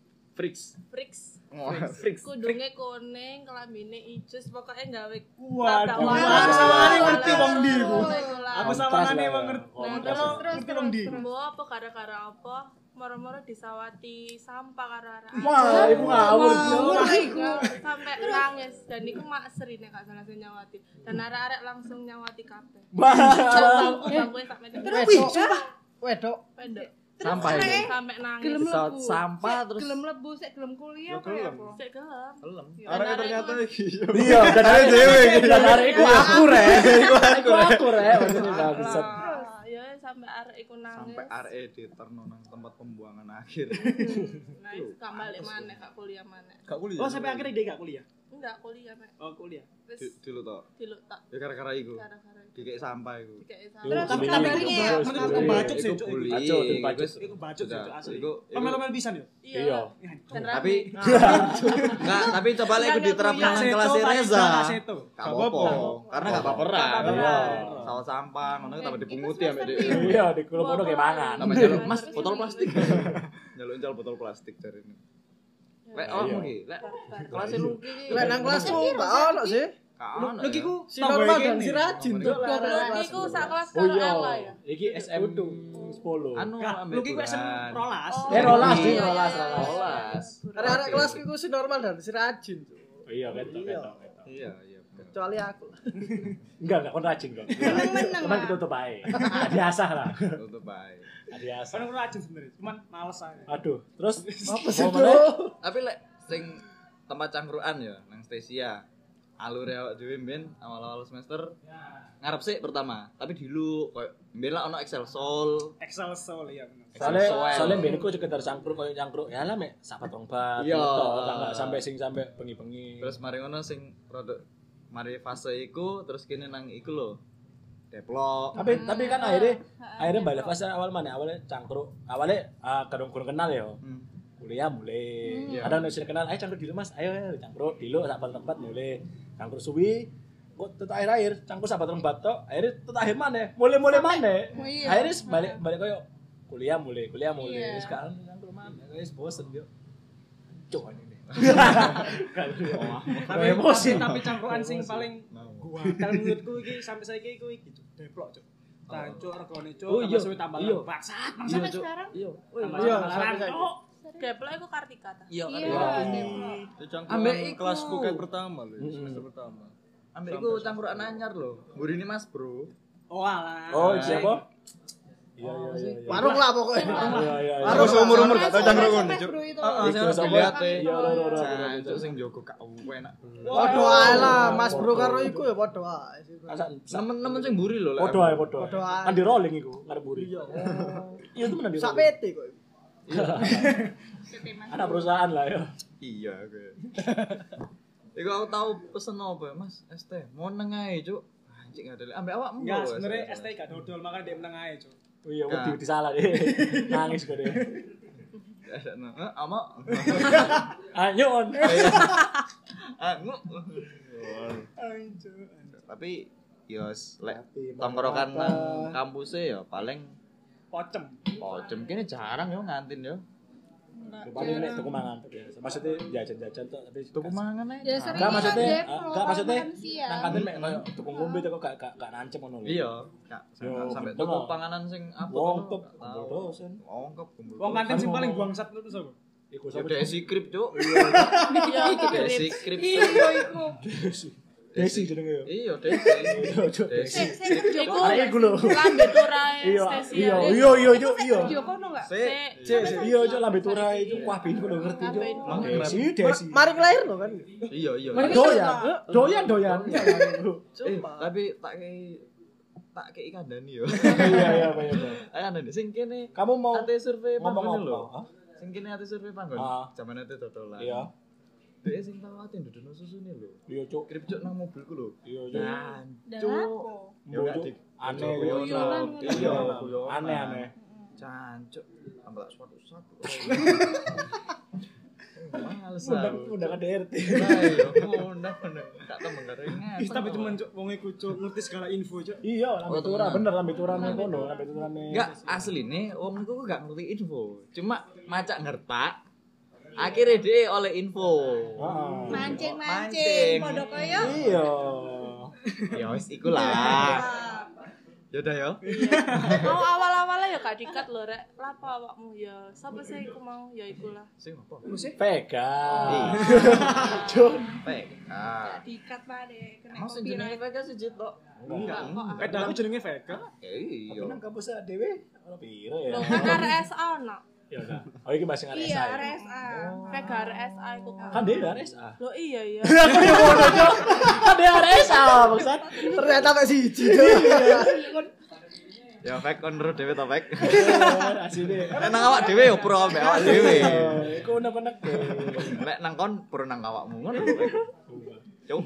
Freaks. Oh, Freaks. freaks. Kudunge kuning, kelambine ijo, pokoknya gawe Waduh, tabrak aku sama warna. nih ngerti wong ndi iku. Iku lah. Aku sama Kontras nih lah wong ya. ngerti. Kontras. Ngerti wong ndi. Mbok apa gara-gara apa? Moro-moro disawati sampah karo arek. Wah, iku ngawur. Sampai nangis dan iku mak Sri nek gak salah sing nyawati. Dan arek-arek langsung nyawati kabeh. Wah. Bangku sak meter. Wedok. Pendek. Sampah itu. Sampai nangis. Gelem Pesawat lebu. sampah terus Gelem lebu, sik gelem kuliah Ya, apa ya? gelem. apa? Sik gelem. kelem. Arek ternyata iki. Iya, dan Arek dhewe iki. dan hari iku aku rek. Iku aku rek, maksudnya bangsat. Ah, ya sampai arek iku nangis. Sampai RE diterno nang tempat pembuangan akhir. Nangis gak balik maneh gak kuliah maneh. Gak kuliah. Oh, sampai akhirnya dia gak kuliah. Enggak kuliah mek. Oh, kuliah. Wis Dulu tok. diluk tak Ya gara-gara iku. gara-gara itu. Dikek sampah iku. Dikek Terus, sampah. Tapi bullying. ini Terus, menurutku bullying. bacot sih, Iku Cuk. bullying. Bacot, itu bacot. Iku bacot sih, Cuk, asli. Iku- Pemel-pemel pisan yo. Iya. Dan Tapi rame. enggak, tapi coba lek iku diterapkan nang Seto, kelas paling Reza. gak seto. Gak apa-apa. Karena gak baperan. Gak baperan. Iya. Sawah sampah ngono tambah dipunguti ambek dhek. Iya, di kulo-kulo kayak mangan. Tambah jaluk, "Mas, botol plastik." Jaluk botol plastik dari ini. Lek awakmu iki, lek kelas lu iki. Lek nang kelasku gak ono sih. Kan. Lagi ku Si normal dan si rajin tuh. Iku sak kelas Oh karo iya. Ella ya. Iki SM 10. Anu Gak, ambek lu ki SM Burhan. rolas. Rolas, iya, rolas, iya, iya. Rolas. Arek-arek kelasku iku si normal dan si rajin tuh. Oh iya, ketok, ketok, ketok. Iya, iya. Kecuali aku. Enggak kon rajin kok. Meneng-meneng Cuman lah. ditutup ae. Nah, diasah lah. Tutup bae. Nah, diasah. Kan aku rajin sebenarnya, cuman males aja. Aduh, terus Apa sih mau tuh? meneh? Tapi lek sing tempat cangkruan ya nang Stesia. Alur awak dhewe mben awal-awal semester ngarep sih pertama, tapi dulu koyo mben lah ono Excel Soul. Excel soul ya bener. Soalnya mbien iku sekedar cangkruk koyo cangkruk. Ya lah mek sapat rong bat. Iya. Enggak sampai sing sampai bengi-bengi. Terus mari ngono sing rada mari fase iku terus kene nang iku lho. Deplok. Tapi kan akhirnya balik fase awal mana? Awalnya cangkruk. Awalnya kadung-kadung kenal ya. Kuliah mulai. Ada yang sudah kenal, ayo cangkruk dulu Mas. Ayo cangkruk dulu sak tempat mulai. Cangkruk suwi. Kok tetep akhir cangkruk sak tempat tok. Akhirnya tetep akhir mana? Mulai mana? Oh, iya. Akhirnya balik koyo kuliah mulai. Iya. Sekarang cangkruk mana? Wis bosen yo. Cuk ini. Tapi cangkruan sing paling gua kalau menurutku iki sampai saiki iku iki Cuk. Deplok Cuk. Tancuk regane Cuk, Oh, iya. tambah suwe tambah Iya. bangsat. Sampai sekarang. Iya. Iya, Deplok iku Kartika ta. Iya, Iya, kan. Deplok. Ambek iku. kelasku kayak pertama lho, semester pertama. Ambek iku cangkruan anyar lho. Mburine Mas Bro. Oh alah. Oh, siapa? Iya. Warung lah pokoknya. Iya. Aku seumur-umur gak tau cangkruk ngono, Sampai Cuk. bro itu. Sing lihat liate. Iya, Cuk sing jogo gak enak. Padha ae lah, Mas Bro karo iku ya padha ae. Nemen-nemen sing mburi lho. lek Podo aku. ae, podo. Podo ae. Kan di rolling iku, ngarep buri. Iya. Iya itu menan di Sak rolling. PT kok. Anak perusahaan lah ya. Iya, oke. Iku aku tahu pesen apa, Mas? ST. Mau neng ae, Cuk. Anjing ada ambek awakmu. Enggak, lho, sebenarnya ST. ST gak dodol makanya dia menang aja Cuk. Oh iya, Nah. wedi salah deh. Nangis kok deh. Ama. Ayo on. Angu. Tapi yos lek tongkrongan nang kampusnya ya paling Pocem. pocem kene jarang yo ngantin yo. Paling nek tuku mangan biasa. Maksudnya jajan-jajan tuh tapi Tuku mangan ae. Ya sering Enggak maksudnya, Deplok, enggak maksudnya makan siang. nang kantin mek koyo tuku ngombe tuh gak nancep ngono lho. Iya, Kak. Yo, Sampai bener. tuku panganan sing apa? Wongkep, kumpul dosen. Wongkep kumpul. Wong kantin sing paling bangsat itu sapa? Iku Ya sapa? dek skrip, Cuk. Iya, Dek skrip. Iya, iku. Desi jenenge yo. Iya, Desi. Desi. Iku Arek iku lho. lambe turae Iya, Stasia. iya. Video kono enggak? Iya, cok lambe turai itu kuah bin kudu ngerti cok. Desi. Mari lahir lho kan. Iya. Doyan. Tapi tak kei kandani yo. Iya, Pak. Kandani sing kene. Kamu mau ate survei ngomong panggon apa? lho. Hah? Sing kene ate survei panggon. Zaman ate dodolan. Iya. Dek sing tau ate ndudono susune lho. Iya, cok. Krip cuk nang mobilku lho. Iya, cok. Cuk. Yo aneh Guyonan. Iya, aneh. Cancuk. Ambak suatu-suatu. Males. Udah kan DRT. Udah. Tak temen garengan. Tapi cuman cuk wong iku cuk ngerti segala info cuk. Iya, lambe tura bener lambe turane kono, lambe turane. Enggak, asline wong iku gak ngerti info. Cuma macak ngertak. Akhirnya dia oleh info. Mancing Mancing. padha kaya. Iya. Ya wis iku lah. Ya udah ya. Mau awal-awalnya ya gak dikat lho rek. Lapo awakmu ya. Sapa sih iku mau ya ikulah. Sing apa? Vega. Cuk. Dikat pade kena Mau sing jenenge Vega siji tok. Enggak. Aku jenenge Vega. Iya. Nang kampus dhewe ono piro ya? Lho kan RSA ono. Ya udah. Oh iki masih RSA. Iya, ya? RSA. Vega RSA iku. Kan dia RSA. Lho iya. Aku yo ngono, Cok. Kan dia RSA, maksud. Ternyata mek siji. Ya Vek kon ro dhewe to Vek. Asine. Nek nang awak dhewe yo pro ambek awak dhewe. Iku unek-unek. Nek nang kon pro nang awakmu ngono. Cuk.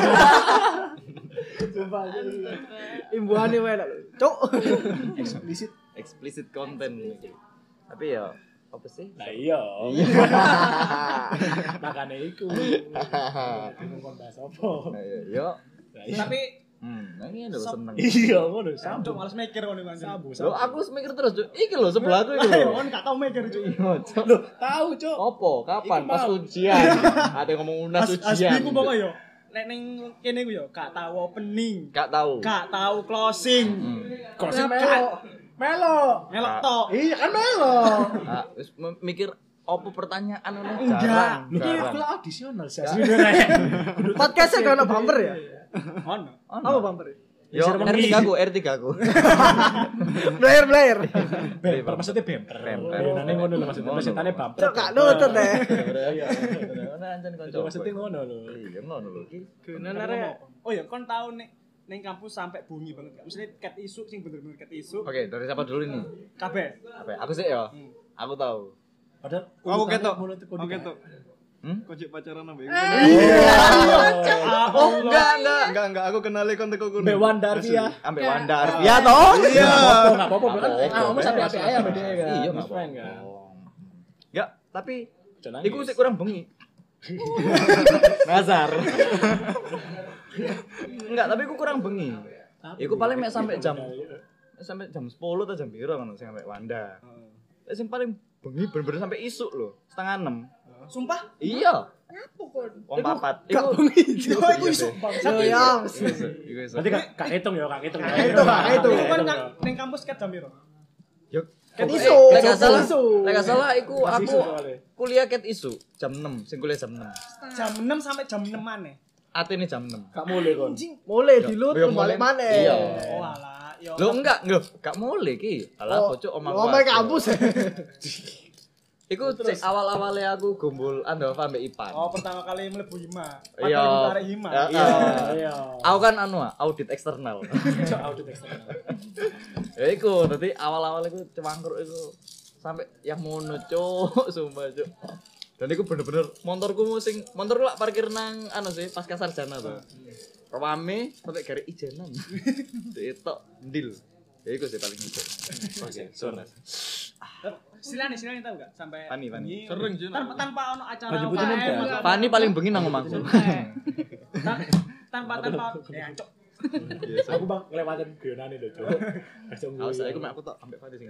Sumpah. Imbuhane wae lho. Cuk. Explicit content. Tapi ya apa sih? Lah iya. Makane iku. Bingung kon bahas apa. Yo. Tapi Ini udah seneng. Iya, ngono cuk sambung. males mikir ngono Bang. Sambung. Lo aku mikir terus, Cuk. Iki lho sebelahku iki lho. Kon gak tau mikir cuk. Loh, tahu, Cok. Opo? Kapan? Iki Pas mau. ujian. Ada yang ngomong unas ujian. Asliku pokok yo. Nek ning kene ku yo gak tau opening. Gak tahu. Gak tau closing. Kok sih Melo. Melok tok. Iya kan Melo. Ah, wis mikir opo pertanyaan oleh Enggak. jarang. Lu ki jarang. kuwi audisional sih. Sebenarnya. Podcastnya gak ono bumper ya? Ono. Apa bumper? Yo, R3 ku. Blair. Bemper maksudnya bemper. Nane ngono lho maksudnya. Maksudnya bumper. Cuk gak nutut deh. Iya. Ngono ancen kanca. Maksudnya ngono lho. Iya, ngono lho iki. Oh ya kon tau nek ning kampus sampai bunyi banget gak? Maksudnya cat isu sing bener-bener cat isu. Oke, dari siapa dulu ini? Kabeh. Apa? Aku sih ya. Aku tahu. Padahal Aku urutannya ketok. mulut Aku ketok. Kok cek pacaran ambek Oh, enggak. Aku kenali kon teko kono. Mbak Wandarvia. Ambek Wandar. Ya toh? Iya. Enggak apa-apa kan. Kamu sampai api ayam beda kan. Iya, Best friend kan. Enggak, tapi Jangan iku nangis. sik kurang bengi. Nazar. Enggak, tapi iku kurang bengi. Iku paling mek sampai jam 10 atau jam piro ngono sing sampai Wanda. Sing paling bengi bener-bener sampai isuk lho, 5:30. Sumpah? Iya. Apa kon? Wong papat. Gak bengi. Iku iso bangsat ya. Iku iso. Berarti gak hitung ya, gak hitung. Itu kan ning kampus cat jam piro? Yo, Ket Oke, isu. lek gak salah, Isu. lek gak salah iku Pas aku isu soalnya. kuliah ket isu jam 6, sing kuliah jam 6. Jam 6 sampai jam 6 maneh. Atene jam 6. Gak mulai kon. Mulai dilut Yo, balik mulai. maneh. Iya. Oh alah, yo. Lho enggak, lho, gak mulai ki. Alah bocok omah. Omah kampus. Iku cek awal-awale aku gombol Andova ambek Ipan. Oh, pertama kali mlebu Hima. Iya. Padahal di Hima. Iya. Iya. Aku kan audit eksternal. Audit eksternal. Ya iku, dadi awal-awal iku cewangkruk iku sampai yang mono cuk, sumpah cuk. Dan iku bener-bener motorku lak parkir nang sih pasca sarjana tuh. Rame sampai gare ijenan. Itu ndil. Ya iku sih paling itu. Oke, sorry. Silane tahu gak sampai Fani. Sering sih. tanpa ono acara Baju putih UKM, muda. atau Fani paling bengi nang omahku. tanpa ya cok. Aku bang ngelewatin guyonane lho, Cuk. Langsung Awas guyon. aku mek aku tok ambek Fani sing.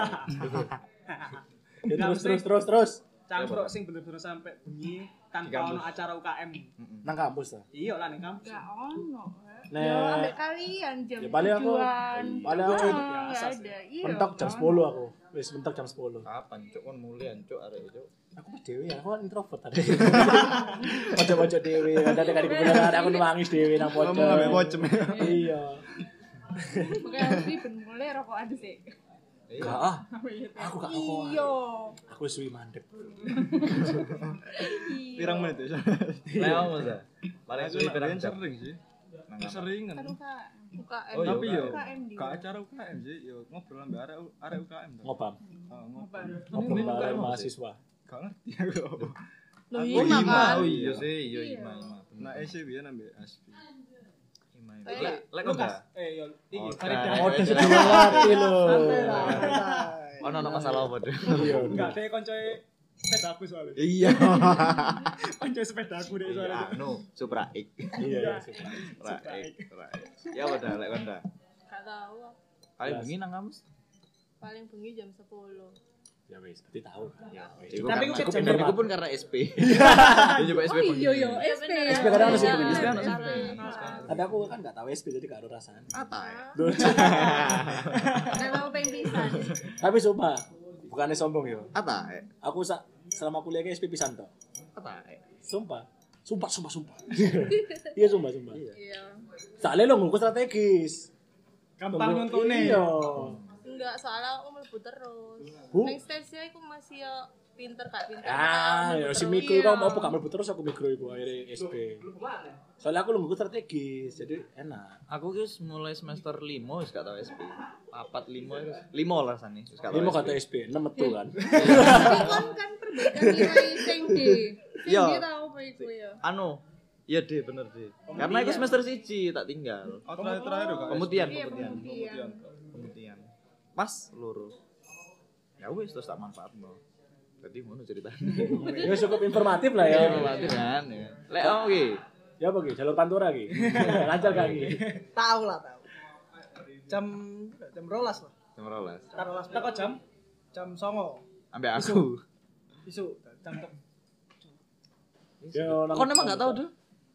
Ya, terus. Campur sing bener-bener sampai bengi tanpa ono acara UKM. Nang kampus ta. Iya lah ning kampus. Gak ono. Yo ambek kalian jam Ya, paling aku enggak ada. Iya. mentok jam 10 aku. Wis mentok jam 10. Kapan cuk kon mulian cuk arek cuk. Aku mah dhewe ya, aku kan introvert tadi. Pojok-pojok dhewe, kadang kali kebenaran aku nangis dhewe nang pojok. Ngomong ambek pocem. Iya. Makanya mesti ben mulai rokokan sih. Enggak ah. Aku gak rokokan. Iya. Aku suwi mandek. Pirang menit ya? Leo masa. Paling suwi pirang jam. Sering sih. Seringan. Kan UKM. Oh, iya, Tapi yo UKM di. ke acara UKM sih, yo ngobrol ambek arek UKM to. Ngobam. Ngobrol. Ngobam bareng mahasiswa. Gak ngerti aku. Loh Oh, iya Ima. kan. Oh, Iya iya. sih, iya Ima. Nah, EC biyen ambek Aspi. Ima. Kayak Lek Lukas. enggak. Yo iki Oh, Farida. kan. Udah sedih hati lho. Ono masalah apa deh? Iya. Enggak, dek koncoe sepedaku soalnya. Iya. Koncoe sepedaku dek soalnya. Anu, Supra X. Iya. Supra X. Ya udah lek konda. Gak tahu. Paling bengi nang kamus. Paling bengi jam 10. Ya wis, berarti tahu. Ya wis. Tapi Iku aku pindah jam iku pun karena SP. Dia coba SP. Oh iya SP. SP kadang harus Iya, SP. bener. Ada aku kan enggak tahu SP jadi gak ada rasanya. Ata. Gak tahu pengen pisan. Tapi sumpah, bukannya sombong yo. Ata. Aku selama kuliah ke SP pisan to. Ata. Sumpah. Sumpah. Iya sumpah. Iya. Soalnya lo ngurus strategis. Gampang nuntune. Iya. Enggak, soalnya aku mlebu terus. Bu? Ning stage iku masih ya pinter gak pinter. Ah, ya Mlebu si terus. mikro Iya. kok mau buka mlebu terus aku mikro iku akhirnya SP. Soalnya aku ngurus strategis, jadi enak. Aku wis mulai semester 5 wis gak tau SP. 4 5 wis 5 lah sane wis gak tau. Ini mau kata SP, 6 metu kan. Tapi kan perbaikan nilai sing D. Sing Iya. D tau apa iku ya? Anu, iya deh bener deh. Karena aku semester 1 tak tinggal. Oh, terakhir kok. Pemutihan. Iya, pembuktian. Pemutihan. Pas loro. Ya wis terus tak manfaatno. Jadi ngono ceritanya. Ya cukup informatif lah ya. Informatif kan. Ya. Lek oke. Ya apa Ki? Jalur Pantura Ki. Lancar gak Ki? Tahu lah, tahu. Jam 12 lah. Jam 12. Taruhlah Teko jam jam 09.00 Ambek aku. isu jam Ya, Kok emang gak tahu tuh?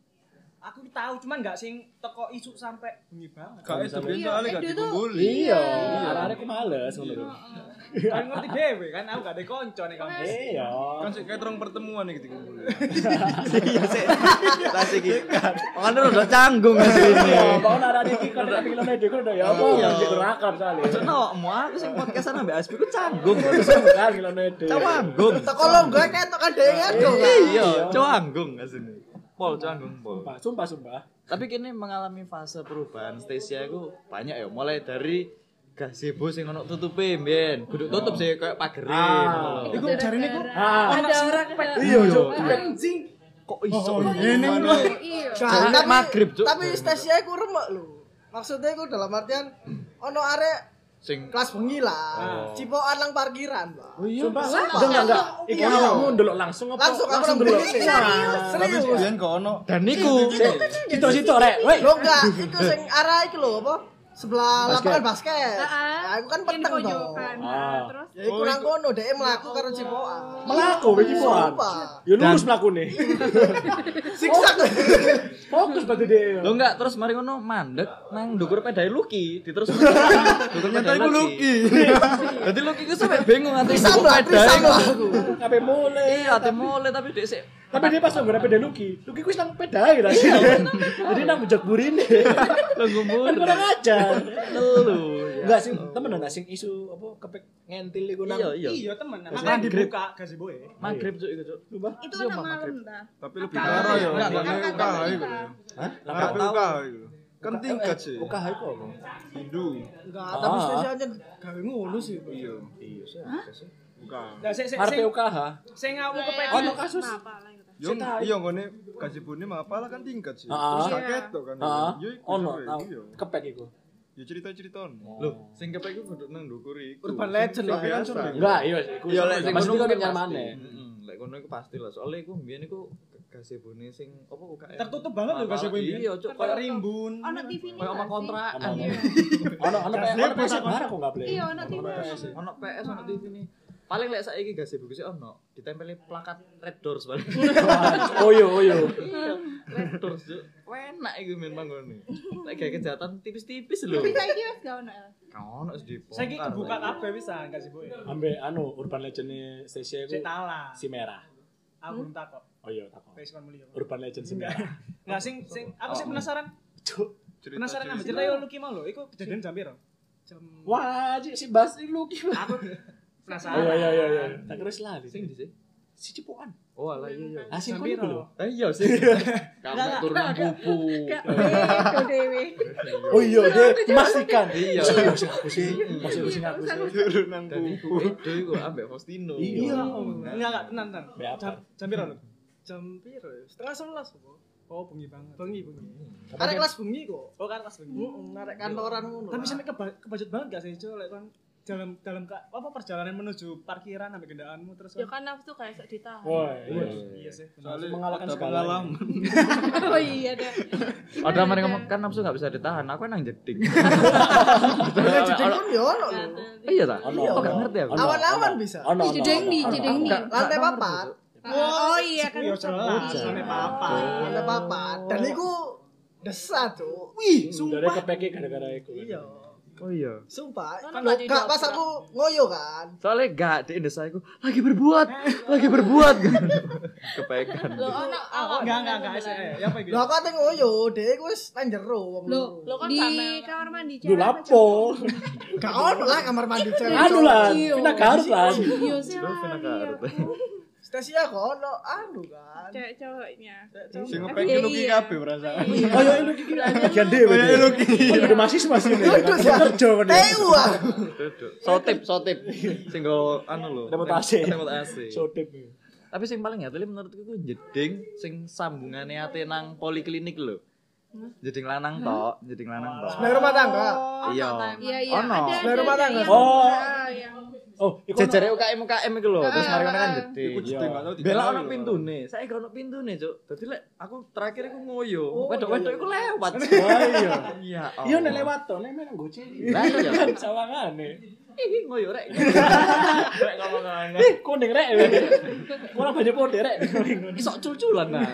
aku tahu cuman enggak sing teko isu sampai bengi banget. Gak itu biyen Iya, soalnya gak itu tuh- dikumpuli. Iya, arek-arek ku males ngono. Kan ngerti dhewe kan aku gak ada konco nih kamu. Iya. Kan sik kayak terong pertemuan iki dikumpuli. Iya sih. Tas iki. Makane udah canggung asline. Ya, mau arek iki kon tapi kilo nek udah ya apa Iya. yang dikerakam soalnya. Ceno, mau aku sing podcastan ambek Aspi ku canggung. Kan kilo nek. Canggung. teko lo gue ketok kan dhewe ado Iya, canggung asline. Pol canggung pol. Sumpah. Tapi kini mengalami fase perubahan Stasia itu banyak ya, mulai dari gazebo sing ono tutupe mbiyen. Kudu tutup sih kayak pagere ngono lho. Iku jarine ku Ada orang Iya, Cuk. anjing. Kok iso Ngene ku. Iya. Jangan maghrib, Cuk. tapi stasia iku remek lho. Maksudnya iku dalam artian ono arek Sing kelas bengi lah. Cipokan lang parkiran, Pak. Sumpah. Enggak. Iki awakmu ndelok langsung apa? Langsung aku ndelok. ndelok. Tapi biyen gak ono. dan niku Situ rek. Woi. Lo enggak, iku sing arah iki lho apa? Sebelah lapangan basket. Heeh. Ya, aku kan Yang di peteng to. pojokan. Ah. Terus Ya iku nang kono dhek mlaku karo cipokan. Melaku iki poan. Sumpah. Ya lurus mlakune. Siksak. Fokus berarti dia. lo enggak terus mari ngono mandek nang ndukur pedae Lucky diterus ndukur pedae Lucky. Dadi Lucky ku sampe bingung ati Pisang ndukur lah, pedae pisang kok. lah aku. Kabeh mulai. Iya, ate mulai tapi dek sik Tapi dia pas nggak peda Lucky ku wis nang pedae lah. Jadi nang bujak burine. lungguh Kan mundur. kurang ajar. Telu. Enggak sing temen enggak sing isu apa kepek ngentil iku nang. Iya. Iya temen. Makanya dibuka gazebo e. Maghrib cuk iku cuk. itu kan malam ta. Tapi lebih karo ya. Enggak, Gak enggak, UKH enggak. iku. Hah? Tapi UKH iku. Kan tingkat sih. UKH iku apa? Hindu. Enggak, tapi stasia aja gawe ngono sih. Iya. Iya sih. UKH. Lah sing Arep UKH. sing aku kepek Ono kasus. Apa lah itu? Yo iya ngene gazebone mah apalah kan tingkat sih. Heeh. Terus kaget to kan. Heeh. Yo iku Ono seru, tau. iya. Kepek iku. Ya cerita-cerita. Loh, sing kepek iku kudu nang ndukur iku. Urban legend lah, Biasa. kan, Enggak, iya iku. Iya lek sing Mas ngono iku kan pasti. nyamannya. Lek kono iku pasti lah. Soale iku mbiyen iku gazebone sing apa UKM. tertutup banget lho gazebo ini. Iya, cuk Kayak rimbun. Ono TV ini. Kayak oma nggak sih? kontrakan. Ono PS barang kok enggak boleh. Iya, ono TV. Ono PS, ono TV nih. Paling lek saiki gak sibuk sih ono, ditempeli plakat Red Doors paling. Oyo. Red Doors yo. Enak iku men manggone. Lek gawe kejahatan tipis-tipis lho. Tapi saiki wis gak ono. Ono wis dibongkar. Saiki kebuka kabeh bisa gak sibuk. Ambe Urban Legend Stasia iku Cetala. si merah. Aku belum takok. Oh iya takon. Wis kon muli. Urban Legend si merah. Enggak sing aku sih penasaran. Cuk. Penasaran ambek cerita yo Lucky mau lho. Iku kejadian jam piro? Jam Wah, si Bas iki Lucky. aku penasaran. Iya. Tak kira lali. Sing ndi sih? Si Cipuan. Oh alah iya. Ah sing Jam kono piro? lho. Iya sih. Kamu turunan pupu. Gak beda dewe. Oh iya, dia memastikan. Iya. Sing aku sih. Sing aku sih. Turunan Dan iku Edo iku ambek Faustino. Iya. Enggak tenan. Be apa? Jam piro lho? Jam piro? Setengah 11 apa? Oh, bengi banget. Bengi. Arek kelas bengi kok. Oh, kan kelas bengi. Arek kantoran ngono. Tapi sampe kebajet banget gak sih, Cuk? Lek kon dalam apa perjalanan menuju parkiran sampai kendaraanmu terus Ya kan nafsu kayak sok ditahan. Wah, iya sih. Soalnya mengalahkan ada segala. pengalaman. Oh iya dah. Ada mana ngomong kan nafsu enggak bisa ditahan. Aku nang jeding. Jadi pun yo ono lho. Iya ta? Ono. Oh, gak ngerti aku. Awan-awan bisa. Ono. Jedeng di. Lantai papat. Oh iya kan. Yo jelas, sampe papa. Lantai papat. Dan iku desah, Cuk. Wih, Dari sumpah. kepeke gara-gara iku. Iya. Oh iya. Sumpah. Ono Loh, gak Kak, pas didobrak? aku ngoyo kan. Soalnya gak di desa aku lagi berbuat kepekan. Lo ono awak Enggak. Ya apa iki? Lho aku ate ngoyo, dhek wis nang jero wong Loh, loro. Lo kan di sama- kamar mandi Lu cewek. lapo? Gak ono lah kamar mandi cewek. Anu lah, Iya. Vina Garut lah. Iya sih. Lu pernah Garut. Stasia kok ono anu kan. Cewek cowoknya. Sing ngepeki Lucky kabeh perasaan. Oh iya lu kira bagian dhewe. Oh iya lu kira. Ada mahasiswa sini. Kerja kan. Wah. Sotip. Sing go anu lho. Remote AC. Remote AC. Sotip. Tapi sing paling ngateli menurutku ku jeding sing sambungane ate nang poliklinik lho. Jeding lanang tok. Sebelah rumah tangga. Iya. Iya Ono. ada. Sebelah rumah tangga. yang- Oh. yang Oh, iku Jejere UKM iku lho, terus mari ngono kan jeding. Iku jeding gak tau Bela digawe ono lho. pintune. Saiki ono pintune, Cuk. Dadi lek aku terakhir iku ngoyo. Wedok-wedok iku lewat. Oh iya. Iya. Iya nek lewat to, nek menang goceng. Lah iya. Kan sawangane. Ih, ngoyo rek. Rek ngomong-ngomong. Kuning rek. Kurang banyak pode rek. Isok cul-culan nah.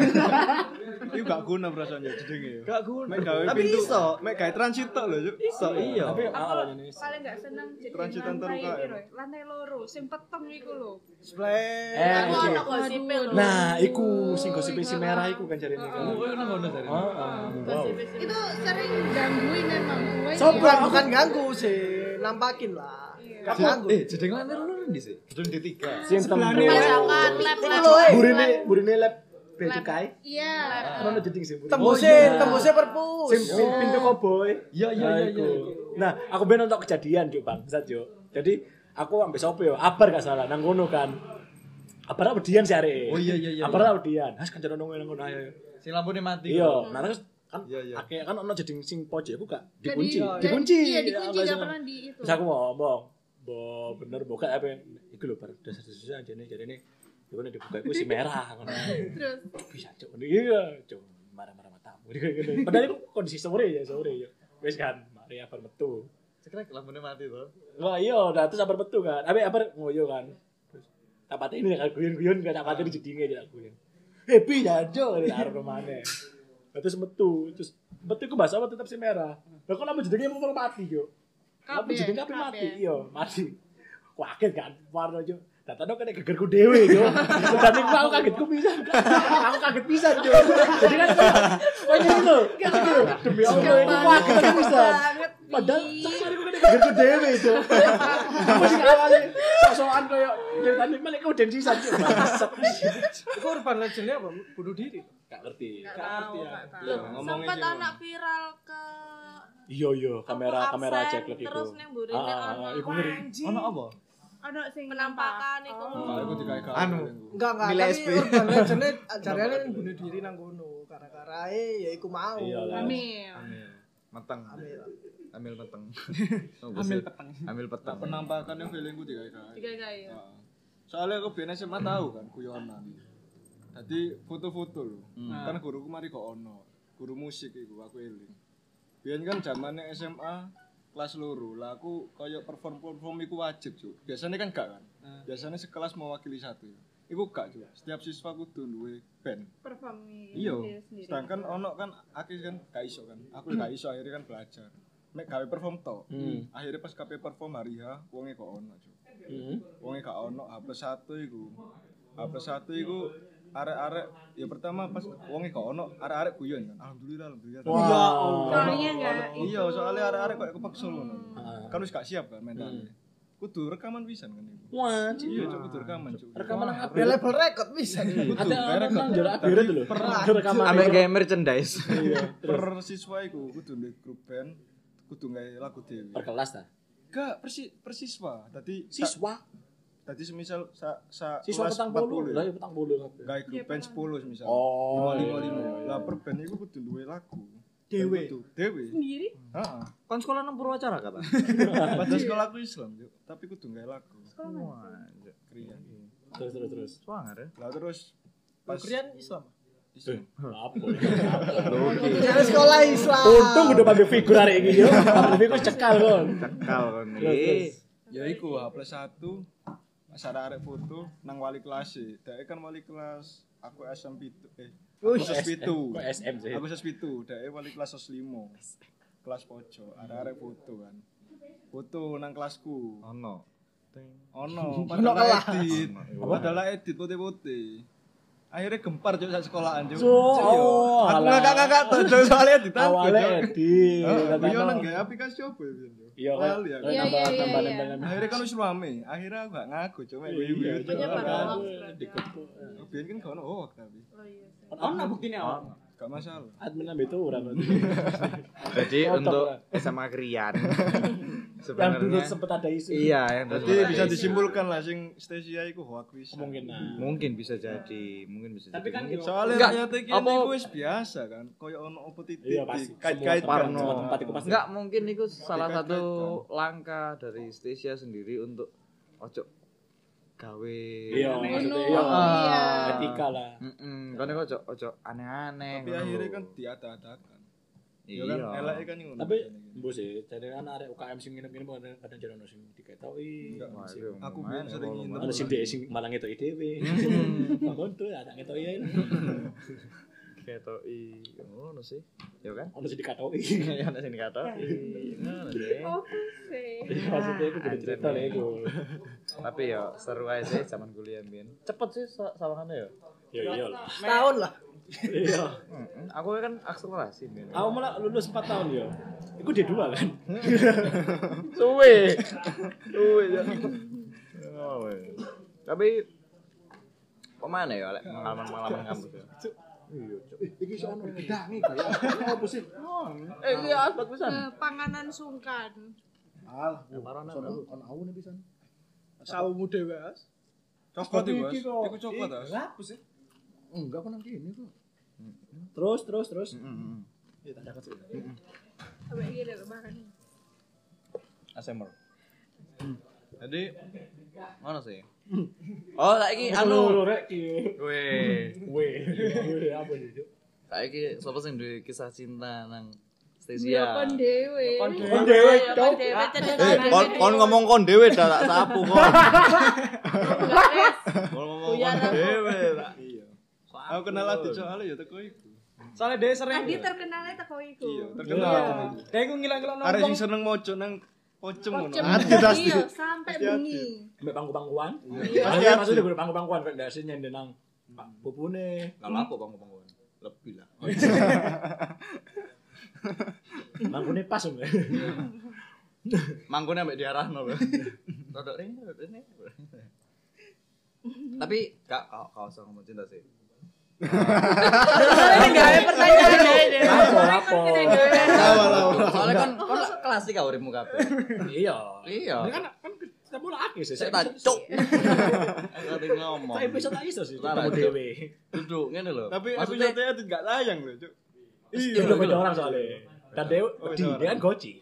Iku gak guna perasaannya jedenge ya. Gak guna. Mek gawe Tapi pintu. iso. Mek gawe transit tok lho, Cuk. Iso iya. Tapi awalnya nih. paling gak seneng jadi Transitan lantai terbuka, piro ya? Lantai loro sing peteng iku lho. Sebelah. Aku iki. ono gosipnya lho. Nah, iku sing gosip si merah iku kan jarene kan. Oh, nang ngono tadi. Gosipnya sih. Itu sering gangguin emang gue. Bukan ganggu sih, nampakin lah. Gak ganggu. jeding lantai loro ndi sih? Jeding di 3. Sing tempe. Masakan lab Iku lho, Burine lab becukai. Iya. Ono jeding sih. Tembusnya perpus. Sing pintu koboi. Iya. Nah, aku ben untuk kejadian yo, Bang. Sat yo. Jadi aku ambek sopo yo? Abar gak salah nang ngono kan. Abar Abdian sih arek. Oh iya. Abar Abdian. Has kancan nang ngono ayo. Sing lampune mati. Iya, nah terus kan Iya. akeh kan ono jeding sing pojok aku gak Gak dikunci. di- Dikunci. Iya, dikunci Ya, gak apa, pernah di itu. Terus aku ngomong, bener buka apa iku lho bar dasar-dasar jane iku nek dibuka iku si merah ngono. Terus Bisa cuk. Iya, cuk. Marah-marah matamu. Padahal itu kondisi sore ya. Wis kan, mari abar metu. Sekarang lampune mati to. Wah iya, udah terus abar metu kan. Abar ngoyo kan. Terus tak pateni kan guyon-guyon kan tak pateni jedinge aja aku. Pi jajo arep maneh. Terus metu iku bahasa apa tetap si merah. Lah kok lama jedenge mau mati yo. Apa jedenge kabeh mati? Iya, mati. Kaget kan, warna yo. Datane kene gegerku dhewe yo. Dan iku aku kagetku pisan. Aku kaget pisan yo. Jadi kan koyo ngono. Demi Allah iku kaget pisan. Padahal sampeyan iku kene gegerku dhewe yo. Masih awale sok-sokan koyo ceritane malah iku den sisan yo. Iku Urban Legend-nya apa? Bunuh diri. Gak ngerti. Gak tahu. Iya, ngomongnya Sempat gitu. anak viral ke Iya, kamera absen, cek lagi terus neng burine ono iku ngeri. Ono apa? ada sing penampakan iku. Aku digawe-gawe. Anu. Enggak. Milih Tapi SP. Urban Legend jarane bunuh diri nang kono. Gara-gara ya iku mau. Iya lah. hamil. Meteng. Hamil. Ambil peteng. Ambil peteng. Ambil peteng. Penampakannya feelingku digawe-gawe. Tiga-tiga ya. Heeh. Soalnya aku biyen SMA tahu kan guyonan. Tadi foto-foto lho. Kan guruku mari kok ono. Guru musik iku aku eling. Biyen kan zamane SMA kelas loro. Lah aku koyo perform iku wajib, Cuk. Biasanya kan gak kan. biasanya sekelas mewakili satu. Iku gak juga. Setiap siswa kudu duwe band. Perform Iya. sendiri. Sedangkan ono kan akeh kan gak iso kan. Aku gak iso akhirnya kan belajar. Mek gawe perform to. Akhirnya pas kabeh perform hari H, wonge kok ono, Cuk. Wonge gak ono H+1 iku. H+1 iku arek-arek ya pertama pas wonge gak ono, arek-arek guyon kan. Alhamdulillah. Soalnya enggak Iya, soalnya arek-arek kok kepaksa ngono. Kan wis gak siap kan mentalnya. Kudu rekaman pisan kan iku. Wah, Iya, Cuk, kudu rekaman, Cuk. rekaman nang Ada label record bisa. ada nang jarak akhir itu lho. Rekaman. Ambek gawe merchandise. Per siswa iku kudu ndek grup band, kudu gawe lagu dhewe. Per kelas ta. Gak persiswa. Tadi Siswa. tadi semisal Siswa kelas petang 40. Lah ya petang 40 kabeh. gawe grup band 10 semisal. Oh, 5. Lah per band iku kudu duwe lagu. Dewe. Dewe. sendiri. Heeh. Kon sekolah nang Purwacara kata. Padahal sekolah aku Islam, Cuk. Tapi kudu gawe lagu. Wah, Kriya. Terus. semangat ya. Lah terus pas Korean Islam. Islam. Apa? Dari sekolah Islam. Untung udah panggil figur hari ini yo. Panggil figur cekal kon. Cekal kon Terus. iki. Ya iku H+1 pas arek foto nang wali kelas e. Dek kan wali kelas aku SM7. Aku SS7. Kok SM sih? Aku SS7, dek wali kelas SS5. Kelas pojok, arek foto kan. Foto nang kelasku. Ono. Ono, padahal edit putih-putih. Akhirnya gempar Cuk sak sekolahan Cuk. Oh, Aku alah. ngakak-ngakak tuh Cuk soalnya editan. Awalnya edit. Iya nang gawe aplikasi apa ya Cuk? Iya kan. Lali aku. Iya, iya, iya. Akhirnya kan wis rame. Akhirnya aku gak ngaku cuma gue. Penyebar hoax. Biyen kan gak ono hoax tapi. Oh iya. Ono buktine ono. Gak masalah. Admin ambil itu orang. Jadi Foto, untuk lah. SMA Krian Yang dulu sebenarnya sempat ada isu. iya yang Jadi dulu bisa ada isu. disimpulkan lah sing Stasia iku hoax wis. Kemungkinan. Mungkin bisa jadi, Tapi kan mungkin. Soalnya Enggak, rakyat iki apa- niku wis biasa kan. Koyo ono opo titik. Iya pasti. Kait-kait Parno. Semua tempat itu pasti. Enggak mungkin itu salah Dikait-kaitkan. satu langkah dari Stasia sendiri untuk ojo gawe. Iya, maksudnya iya. Iya. Etika lah. Kan ojo aneh-aneh. Tapi akhirnya kan diata-atakan. Ya kan iya. eleke kan ngono. Tapi mbok sih, jadi kan arek UKM sing nginep-nginep kadang jadi ono sing diketoki. Enggak, Wah, Sing- itu Aku lumayan biyen sering ya, nginep. Ono sing dhek sing malah ngetoki dhewe. Bangun tuh ada ngetoki ya. Ketoki ngono sih. Ya kan? Ono sing dikatoki. Ya ana sing dikatoki. Ngono sih. Oh, sih. Maksudnya itu kudu cerita lah itu. Tapi ya seru aja sih zaman kuliah Bin. Cepet sih sawangannya ya. Ya iya lah. Setahun lah. Iya. Aku kan akselerasi Bin. Aku malah lulus 4 tahun ya. Iku D2 kan. Suwe. Suwe ya. Oh, weh. Tapi kemana ya Lek? Pengalaman kampus ya? Iki sono gedangi kaya. Apa sih? Iya asbak pisan. Panganan sungkan. Alah, ono awu nih pisan. Sawumu dhewe, As. Cokot iku, Bos. Iki kok. Iku cokot, As. Apa sih? Enggak aku nang kene kok. Terus. Ya tak dapat sih. Sampai iki lho makan. Asemer. Jadi mana sih? Oh, saiki anu. rek iki. Weh, apa nih, Cuk? Saiki sapa sing duwe kisah cinta nang Ya Stasia? kon dhewe. Kon dhewe, Kon dhewe cendet Kon ngomong kon dhewe dah tak sapu kon. Enggak, Res. Kon ngomong Buyar kon aku. dhewe tak. Iya. Aku kenal Adi soalnya ya teko iku. Soalnya dia sering. Adi terkenalnya teko iku. Iya, terkenal. Dia iku ngilang-ngilang Arek nongkrong. sing seneng mojo nang pocong ngono. Pocem. Adi pasti. Iya, sampai Pasti bengi. Mbak pangku-pangkuan. Pasti Pasti ada. maksudnya gue pangku-pangkuan kan ndak sih nyender nang pupune. Lah apa bang? Lebih lah. Mangkune pas om. Mangkune ambek diarahno lho. Rodok rene. Tapi gak usah ngomong cinta sih. Enggak ada pertanyaan ini. Lapo. Soalnya kan klasik kau uripmu kabeh. Iya. Iya. Ini kan kita mulai akeh sih. Saya tak cuk. Aku ngomong. Saya episode tak iso sih. Lah, Ketemu Cuk. dewe. Duduk ngene lho. Tapi maksudnya episode Adi gak tayang lho, Cuk. Iya, udah beda orang soalnya. Dan dewe, dia kan goci.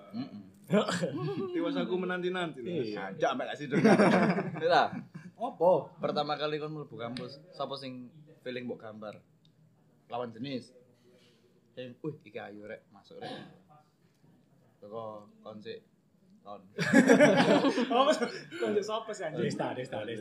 Tiwas aku menanti-nanti lho. Iya. Ajak ambek kasih dong. Lah, Opo? pertama kali kon mlebu kampus, sapa sing feeling mbok gambar? Lawan jenis. Iki ayu rek, masuk rek. Teko kon sik Ton. Oh, Mas. Konco sapa sih anjing? Desta.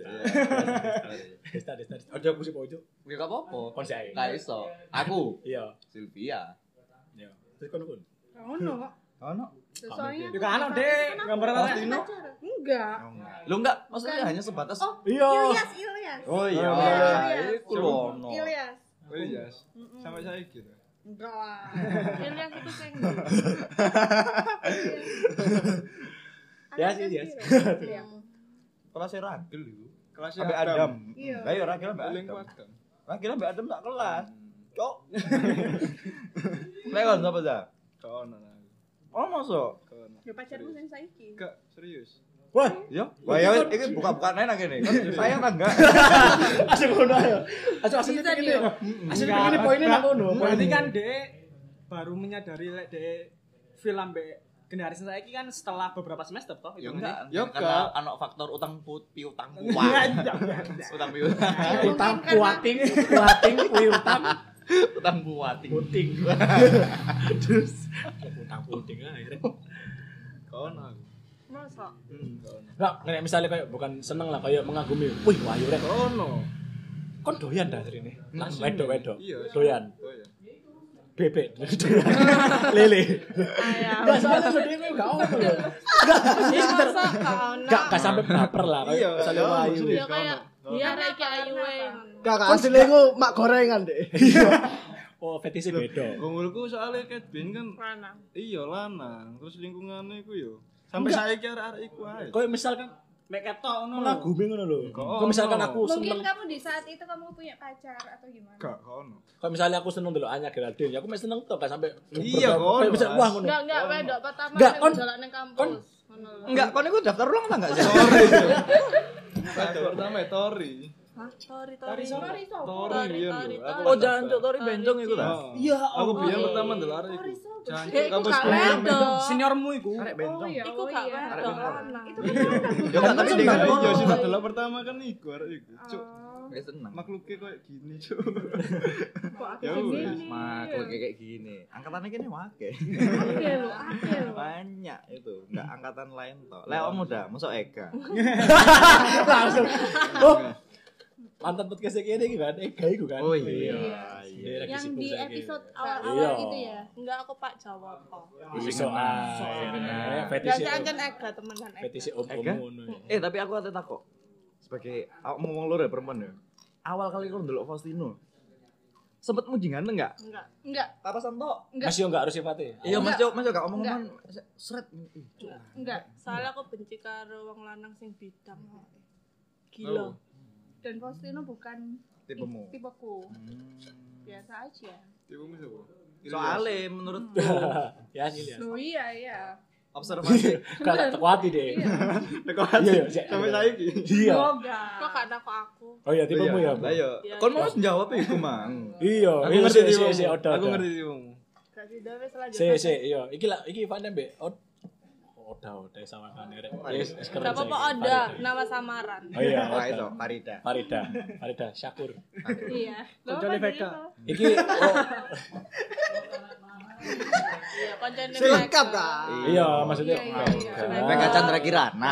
Ojo aku sih pojok. Ya gak apa-apa. Kon sih. Gak iso. Aku. Iya. Sylvia. Iya. Terus kon. Ono kok. Ono. Soalnya Juga anak deh, gambar apa? Pastino. Enggak. Lu enggak, maksudnya hanya sebatas Iya. Ilyas. Oh iya. Ilyas. Iku lho ono. Ilyas. Oh iya. Sampai saya gitu. Enggak lah. Ilyas itu sing Ya sih, ya. Kelasnya Ragil iku. Kelasnya Sampai Adam. Iya. Lah ya Ragil mbak Paling Adam. kuat kan. Ragil mbak Adam tak kelas. Cok. Lewat apa dah? Kau nana. Oh masuk. Kau nana. Ya pacarmu sing saiki. Gak serius. Wah, Ya, wah ya ini buka-buka nena gini. Kan saya kan enggak. asik ngono ayo. Asik Bisa ini. dia. Asik ini poinnya nang ngono. Berarti kan Dek baru menyadari lek Dek film be generasi saiki kan setelah beberapa semester toh Ya itu enggak. Ya Karena anak faktor utang piutang Iya, kuat. iya. Utang piutang. utang kuating kuwi utang Utang buating. puting. Terus utang puting akhirnya. Kau nana. masa. Kau nana. Enggak, nek misalnya kayak bukan seneng lah kayak mengagumi. Wih, wahyu rek. Kau nana. Kon doyan dah dari ini. Wedok. Iya. Doyan. Oh iya. Bebek. Lele. Ayam. Enggak soalnya gede kok enggak ono lho. Enggak, ini sekitar Masa kau enggak sampai baper lah kayak Iya, misalnya iya, wahyu. serius. Ya kayak dia rek ayu Gak asli ku mak gorengan deh. Oh, fetisi beda. Gongulku soalnya Cat Bean kan mana? iya lanang, terus lingkungannya iku yo. Sampai saiki arek-arek iku ae. Kayak misalkan mek ketok ngono lho. mengagumi ngono lho. Kok Kayak misalkan aku Mungkin seneng kamu di saat itu kamu punya pacar atau gimana? Gak kono. kayak misalnya aku seneng dulu Anya Geraldine, ya aku mesti seneng tuh gak sampai Iya, kayak kon, bisa Mas. wah ngono. Enggak wedok pertama Enggak, yang kon- jalan nang kampus. Ngono lho. Enggak, kon iku daftar ulang ta enggak sih? Pacar pertama Tori. Hah? Tori. Sorry, sopo? Tori iya lho. Aku Oh, jancuk Tori bencong iku ta. Iya, aku biyen pertama ndelok arek iku. Jancuk Iku kampus gak gue. wedok. Seniormu iku. Arek Oh bencong. iya, Iku oh gak iya. wedok lanang. Itu kan anak. Ya kan tapi dia kan Iya, sih delok pertama kan iku arek iku. Cuk, Wis seneng. makhluknya kayak gini, cuk. Kok aku Ya gini? wes. Makhluk kayak gini. Angkatannya kene wake. Oke lho. Banyak itu, enggak angkatan lain toh. Lah om udah, masuk Eka. Langsung. Oh. Mantan podcast kayak gini kan, Ega iku kan. Oh iya. Dia lagi Yang sibuk di saiki. episode Iya. awal-awal itu ya. Enggak aku Pak Jawab kok. Iso ae. Enggak Fetisi. jangan Ega temenan Ega. Fetisi om Ega? ngono. Tapi aku ada takut. Sebagai aku ngomong lho ya perempuan ya. Awal kali aku ndelok Faustino. Sempet muji ganteng enggak? Enggak, Papasan tok. enggak. Mas yo enggak harus sifatnya. Iya, Mas Jo gak ngomong-ngomong seret. Enggak. Soalnya aku benci karo wong lanang sing bidang. Gila. Dan Faustino bukan Tipemu. tipeku. Biasa aja. Tipumu siapa? Soalnya menurutku Ya sih ya. Loh iya. observasi Gak tekuati deh. Iya, iya. Sampai saiki. Iya. Kok gak takut aku? Oh iya, tipemu ya. Lah yo. Kon mau jawab iku, Mang. Iya, Aku iya, ngerti si tipumu. odo. Aku ngerti tipumu. Gak sudah wis lanjut. Si, iya. Iki lah, iki Van Dembe. Oda sama kan rek. Wis keren. Gak apa-apa ada nama samaran. Oh iya, Wah itu Farida. Farida Syakur. Iya. Koncone Vega. Iki oh, Iya, koncone Selengkap kan? iya maksudnya. Iya, iya, iya. Vega Chandra Kirana.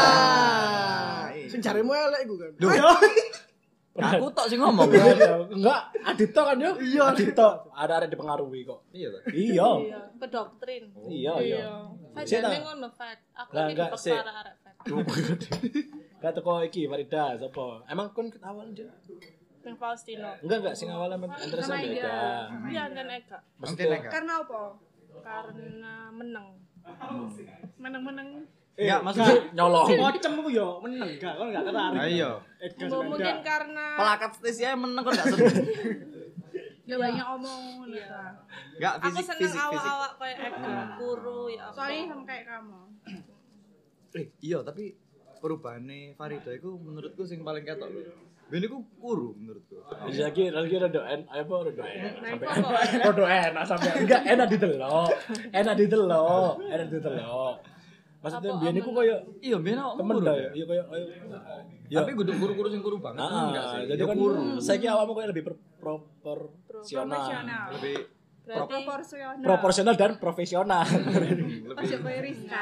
Sing jaremu elek iku kan. Aku tok sing ngomong. Enggak, Adito kan yo. Iya, Adito. Ada dipengaruhi kok. Iya toh. Iya. Iya, pedoktrin. Iya. Saya jane ngono, Fat. Aku Lah, iki enggak, dipaksa sih. arek Fat. Gak teko iki Farida sapa? Emang kon ket awal aja? Yang Faustino. Enggak sing awalnya interest Sama Ega. Ega. Iya, kan Ega. Maksudnya Karena apa? Karena menang. Meneng-meneng. Enggak maksudnya nyolong. Pocem ku yo meneng gak kon gak tertarik. Ayo. Mungkin karena pelakat Stasia meneng kok gak seneng. Gak banyak omong ngono Iya. ta. Enggak aku fisik seneng fisik fisik. awak-awak kayak Ega, kuru ya apa. Soalnya sama kayak kamu. Iya, tapi perubahane Farida iku menurutku sing paling ketok lho. Ben iku kuru menurutku. Lagi rada apa rada sampai pokoknya. rada enak sampai enggak enak didelok. Enak didelok. Maksudnya Apa biyen iku amen? koyo Iya, ben awakmu temen kuru. dah ya. ya. Iya koyo ya. Tapi kudu kuru-kuru sing kuru banget enggak sih? Jadi Ya kan kuru. saiki awakmu koyo lebih proporsional. Profesional. Lebih Berarti proporsional dan profesional. Aja koyo Rizka.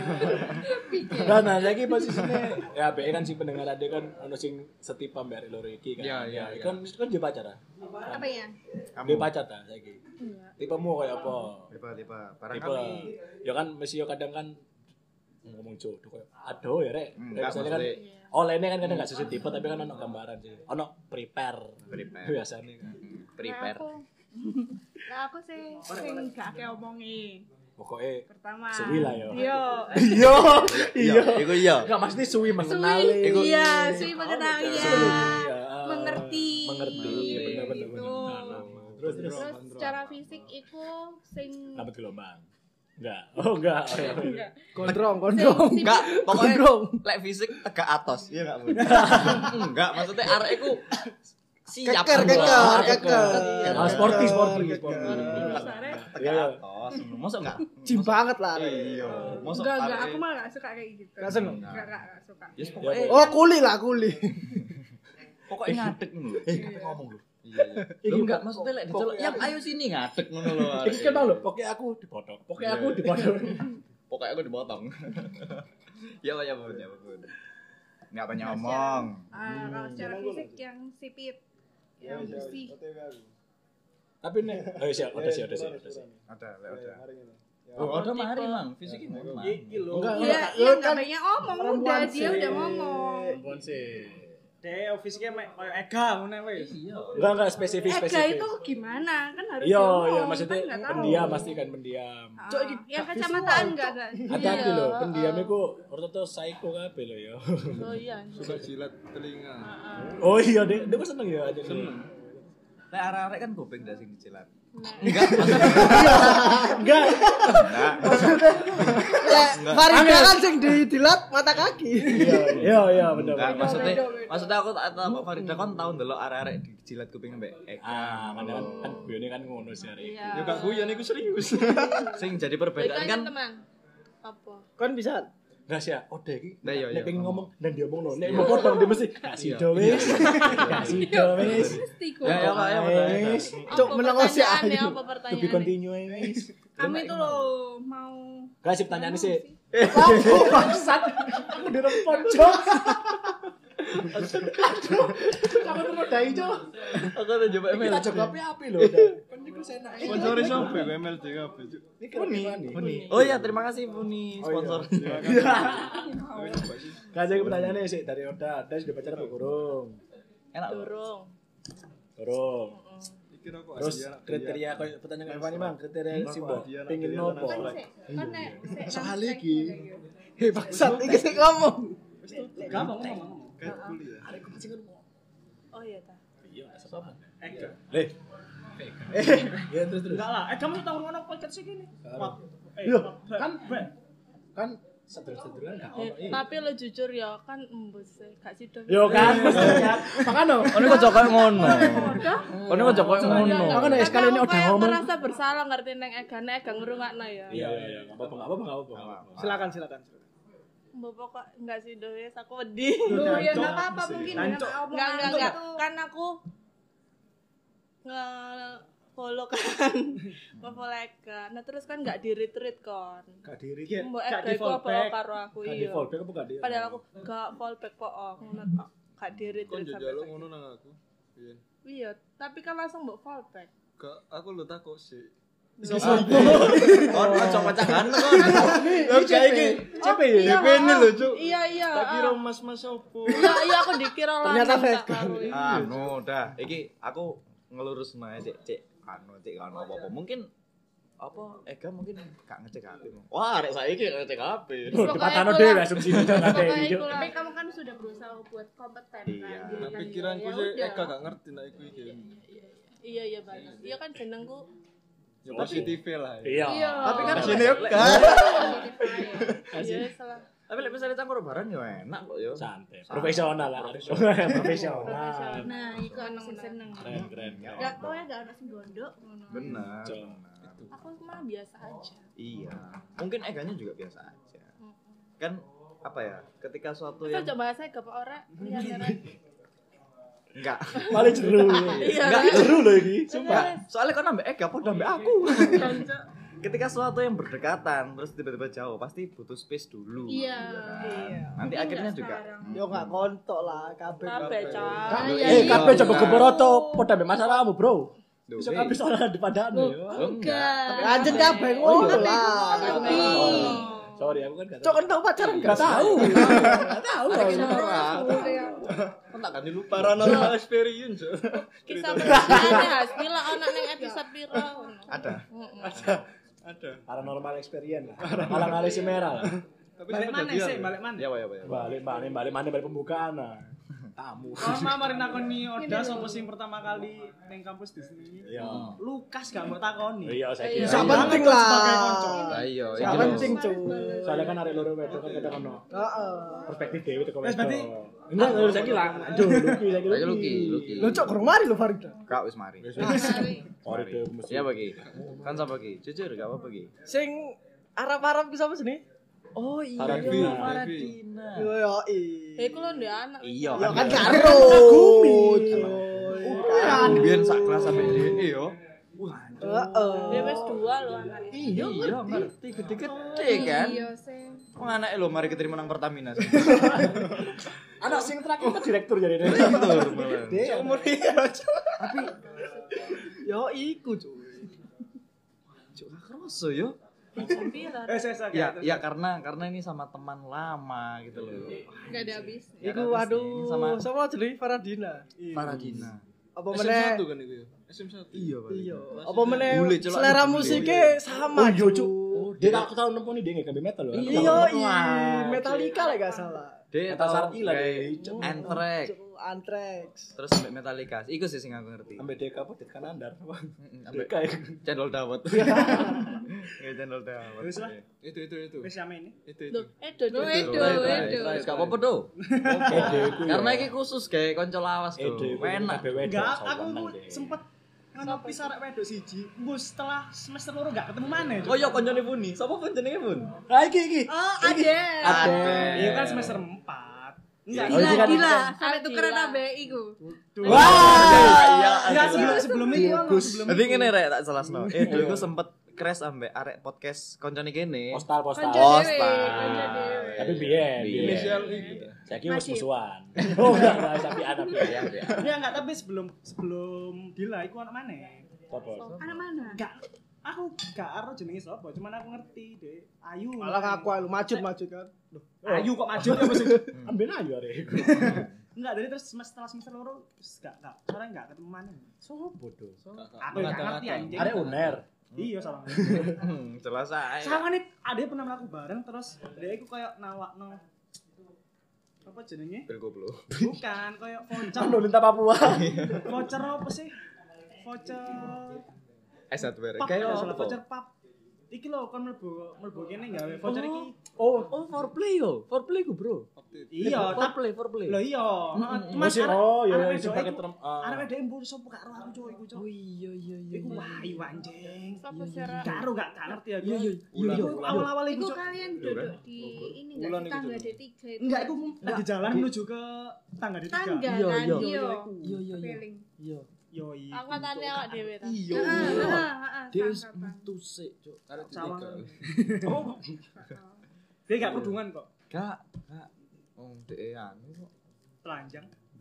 Nah, lagi posisinya ya BE kan si pendengar ada kan ono sing setipe mbak loro iki kan. Iya. Kan dia pacar ah. Apa ya? Dia pacar ta saiki. Tipemu kayak apa? Tipe Tipe ya kan mesti yo kadang kan ngomong jodoh kayak aduh ya rek. Misalnya kan olehnya kan kadang gak sesuai tipe tapi kan ono gambaran sih. Ono prepare. Biasanya kan. prepare. Nah, aku sing gak akeh omongi. Pokoknya Pertama. suwi lah yo. Iya. Iya. Iku iya. Enggak mesti suwi mengenali. Iya, suwi mengenali ya. Mengerti. Bener. Gitu. Terus Secara fisik iku sing lambat gelombang. Enggak. Oh enggak. Gondrong. Enggak, pokoknya lek fisik tegak atos. Iya enggak, Bu? Enggak, maksudnya arek iku siap. Keker. Sporty. Tegak atos. Mosok enggak? Jim banget lah. Iya. Mosok enggak, aku malah gak suka kayak gitu. Gak seneng? Enggak suka. Yes, pokoknya Oh, kuli. pokoknya ngadeg ngono. Kata ngomong lu. Iya. Lu enggak maksudnya lek diceluk, "Yang ayo sini ngadeg ngono lho." Iki kan lho, pokoknya aku dipotong. Pokoknya aku dipotong. Ya Bu. Enggak banyak ngomong. Kalau secara fisik yang sipit, yang bersih. Tapi nek udah sih. Ada. Oh, udah mari, Mang. Fisiknya memang. Iya, enggak banyak omong, udah dia udah ngomong. Perempuan sih. Deh, fisiknya koyo Ega ngono wis. Enggak spesifik. Ega itu gimana? Kan harus Iya, ngomong, maksudnya kan nggak tahu. pendiam pasti kan pendiam. Yang kacamataan enggak. Hati-hati lho, pendiam iku ortoto psycho kabeh lho ya. Oh iya. Suka jilat telinga. Oh iya, dia seneng ya aja. Seneng. Lek arek-arek kan gopeng dak sing dijilat. Enggak. Farida kan sing didilat mata kaki. Iya, bener. Enggak, maksudnya aku tak tahu Farida kan tau ndelok arek-arek dijilat kuping mbek Eka. Kan guyone kan ngono sih arek. Ya gak guyon iku serius. Sing jadi perbedaan kan teman. Apa? Kan bisa. Enggak sih, Ode iki. Nah, iya, Nek pengen ngomong. ngomong dan dia ngomong nek mau potong dia mesti kasih do wis. Kasih do wis. Ya, Pak. Wis. Cuk meneng sih Apa To be pertanyaannya? continue wis. Kami itu loh mau Kasih pertanyaan sih. Bangsat. Aku dirempon, Cok. Kamu tuh mau dai, Cok. Aku udah coba email. Kita coba api lho. Kan iku enak. Sponsori sampe MLD kabeh, Cuk. Puni. Oh iya, terima kasih Puni sponsor. Kasih pertanyaannya sih dari Oda. Ada sudah pacaran apa kurung? Enak. Durung. Iki rokok Terus Asia, anak kriteria koyo pertanyaan kayak Fani, Bang. Kriteria si Mbok Adia, anak pengin Adia, nopo? kan nek Soal iki. Hei bangsat iki sing ngomong. Ngomong. Kayak kuliah. Arek kucing kan. Oh iya ta. Iya, sama. Ega. Ya terus. Enggak lah, kamu tahu ngono podcast sih gini. Iya, kan sederhana gak ono. Tapi lo jujur ya kan embus gak sido. Yo kan, makanya. Ono kok cokoke ngono. Ono kok cokoke ngono. Makanya sekali ini udah ngomong. Merasa bersalah ngerti neng Ega ngrungokno ya. Iya, enggak apa-apa. Silakan. Mbok pokok enggak sido wis aku wedi. Loh ya enggak apa-apa mungkin dengan omongan Enggak. itu. Kan aku follow kan. Follow Ega. Nah terus kan enggak di-retweet kan. Gak diri. Mbok Gak Ega di iku apa fallback. karo aku Gak di iya. fallback apa gak di? Padahal aku gak fallback kok ngono tok. Gak Kon di-retweet sampai njaluk saiki. ngono nang aku. Iya. Iya, tapi kan langsung mbok fallback. Gak aku lu takut sih. Ono coba cakan kon. Oke iki. CP ya? DP ini lho, Cuk. Iya. Tak kira mas-mas opo. Iya aku dikira lanang. Ternyata tak fake. karo. Anu, dah. Iki aku ngelurus mae cek anu apa-apa. Mungkin apa Ega mungkin gak ngecek HP. Wah, arek saiki gak ngecek HP. Dipatano dhewe asumsi jangan ada video. Tapi kamu kan sudah berusaha buat kompeten kan. Iya. Jadi Nah, kan pikiranku ya sih udah. Eka gak ngerti nek iku iki. Iya banget. Iya kan jenengku. Ya positif lah. Iya. Tapi kan Sini yuk. Iya salah. Tapi lek misalnya cangkur bareng yo enak kok yo. Santai. Profesional lah. Profesional. Nah, iku aku sing seneng. Keren. Enggak pokoknya enggak ono sing gondok ngono. Benar. Aku mah biasa aja. Iya. Mungkin Eganya juga biasa aja. Kan apa ya? Ketika suatu Kita yang coba bahasa ke Pak Ora. Lihat. Enggak. Paling jeru. Enggak. Jeru loh ini. Sumpah. Soalnya kok nambah gak apa nambah aku. Ketika sesuatu yang berdekatan terus tiba-tiba jauh pasti butuh space dulu. Iya. Nanti akhirnya juga Yo gak kontok lah kabeh. Kabeh, Cak. Kabeh coba geboroto padha mbek masalahmu, Bro. Duh, Iso kabeh soal di padane yo. enggak. Lanjut kabeh ngono lah. Sorry, aku kan gak Cok kan tau pacaran Gak tahu. Gak tahu. Kan tak ganti lupa. Paranormal experience. Kisah percintaannya Hasmila ana ning episode piro ngono. Ada. Paranormal experience lah. Alang-alang si merah lah. Tapi Balik mana sih? Balik mana? Ya, ya. Balik pembukaan lah. Tamu. Sama mari nakoni Oda sapa sing pertama kali ning kampus di sini? Iya. Lukas gak mbok takoni. Iya, saya Iya. kira. Gak penting lah. Sebagai konco. Lah iya, Gak penting cuy. Soalnya kan arek loro wedok kan kadang ono Heeh. perspektif dhewe teko Wes, wedok. berarti- Enggak, lho saya kira. Aduh, Luki. Lagi Luki. Lo cok kurang mari lo Farida. Kak wis mari. Sorry deh, mesti. Ya bagi. Kan sama Ki. Jujur gak apa-apa Ki. Sing Arab-Arab bisa apa sini? Oh iya, Faradina. Faradina. Yo yo Iku lho ndek anak. Iya Yo kan. kan karo. Kan biyen sak kelas sampe DE yo. Wah, Dia wis 2 lho anaknya. iya ngerti gede-gede kan. Iya sih. Wong anake lho mari keterima nang Pertamina. Anak sing terakhir kan direktur jadi deh. Betul malah. Dia Umur dia cok. Tapi yo iku cuy. Cuk kroso yo. Piro? Ya karena ini sama teman lama gitu loh. Enggak ada habis. Iku waduh sama sama jenenge Faradina. Faradina. Apa meneh? SM1 kan itu ya? SM1. Iya, Pak. Iya. Apa meneh Bule, celok. selera musiknya sama iya, cuy. Dia aku tahu nemponi dia nggak metal loh. Iya, Metallica lah gak salah. Dia Metal tau Sartila kayak deh. Anthrax. Anthrax. Terus sampai Metallica. Iku sih sing aku ngerti. Sampai DK apa Dekan Andar. Sampai Kayak channel dawet. Kayak channel dawet. Wis lah. Itu. Wis sama ini. Loh, Edo. Wis gak apa-apa do. Karena iki khusus kayak konco lawas do. Enak. Enggak, aku sempet ngopi sarek wedok siji. Mbok setelah semester loro gak ketemu maneh. Oh iya koncone Puni. Sapa pun jenenge Pun? Ah iki. Oh, ada. Iya kan semester 4. Enggak, Oh, ini kan- Gila, sampai tukeran ambek iku. Wah. enggak sebelum itu sebelum Tapi ngene rek tak jelasno. Dulu iku sempet crash ambek arek podcast koncone kene. Postal. Konco dewe, Postal. konco dewe. Tapi biyen. Inisial itu. Saya kira wis musuhan. Oh enggak tapi anak Ya, ya. ya enggak, tapi sebelum Dila iku anak maneh. Apa? Anak mana? Enggak, aku gak aro jenenge sapa, cuman aku ngerti, Dek. Ayu. Malah ngaku lu maju kan. Ayu kok maju ya maksud. Ambil aja arek. Enggak, dari terus setelah semester loro wis gak soalnya enggak ketemu maneh. Sopo do? Aku gak ngerti anjing. Arek uner. Iya salah. Jelas ae. Sama nih, ada pernah melaku bareng terus dia iku kayak nawakno apa jenenge? Bel goblok. Bukan, kayak voucher. Anu Linta Papua. Voucher apa sih? Voucher S1 pub, kayak salah apa? voucher pub. Iki lho kon mlebu kene gawe voucher iki. Oh, foreplay yo. Foreplay ku, Bro. Iya, tapi foreplay. lho iya. Mas Oh, iya, arek sing wedok pakai iku- term. arek wedok mbur sapa karo aku coy iku coy. Oh iya. Iku wayu anjing. Sapa secara Karo gak ngerti aku. Iya. Iku awal-awal iku Iku coy. kalian duduk di ini enggak di tangga D3 itu. Enggak, iku lagi jalan menuju ke tangga di tangga tiga. Iya, kan. iya. Iya. Iya. Kepeling. Iya. Yo iya. angkatane awak dhewe ta. Iya. Dia wis metu sik, Cuk. Cawang. Oh, Dia gak kudungan kok. Kak. Wong dhek anu kok. Telanjang.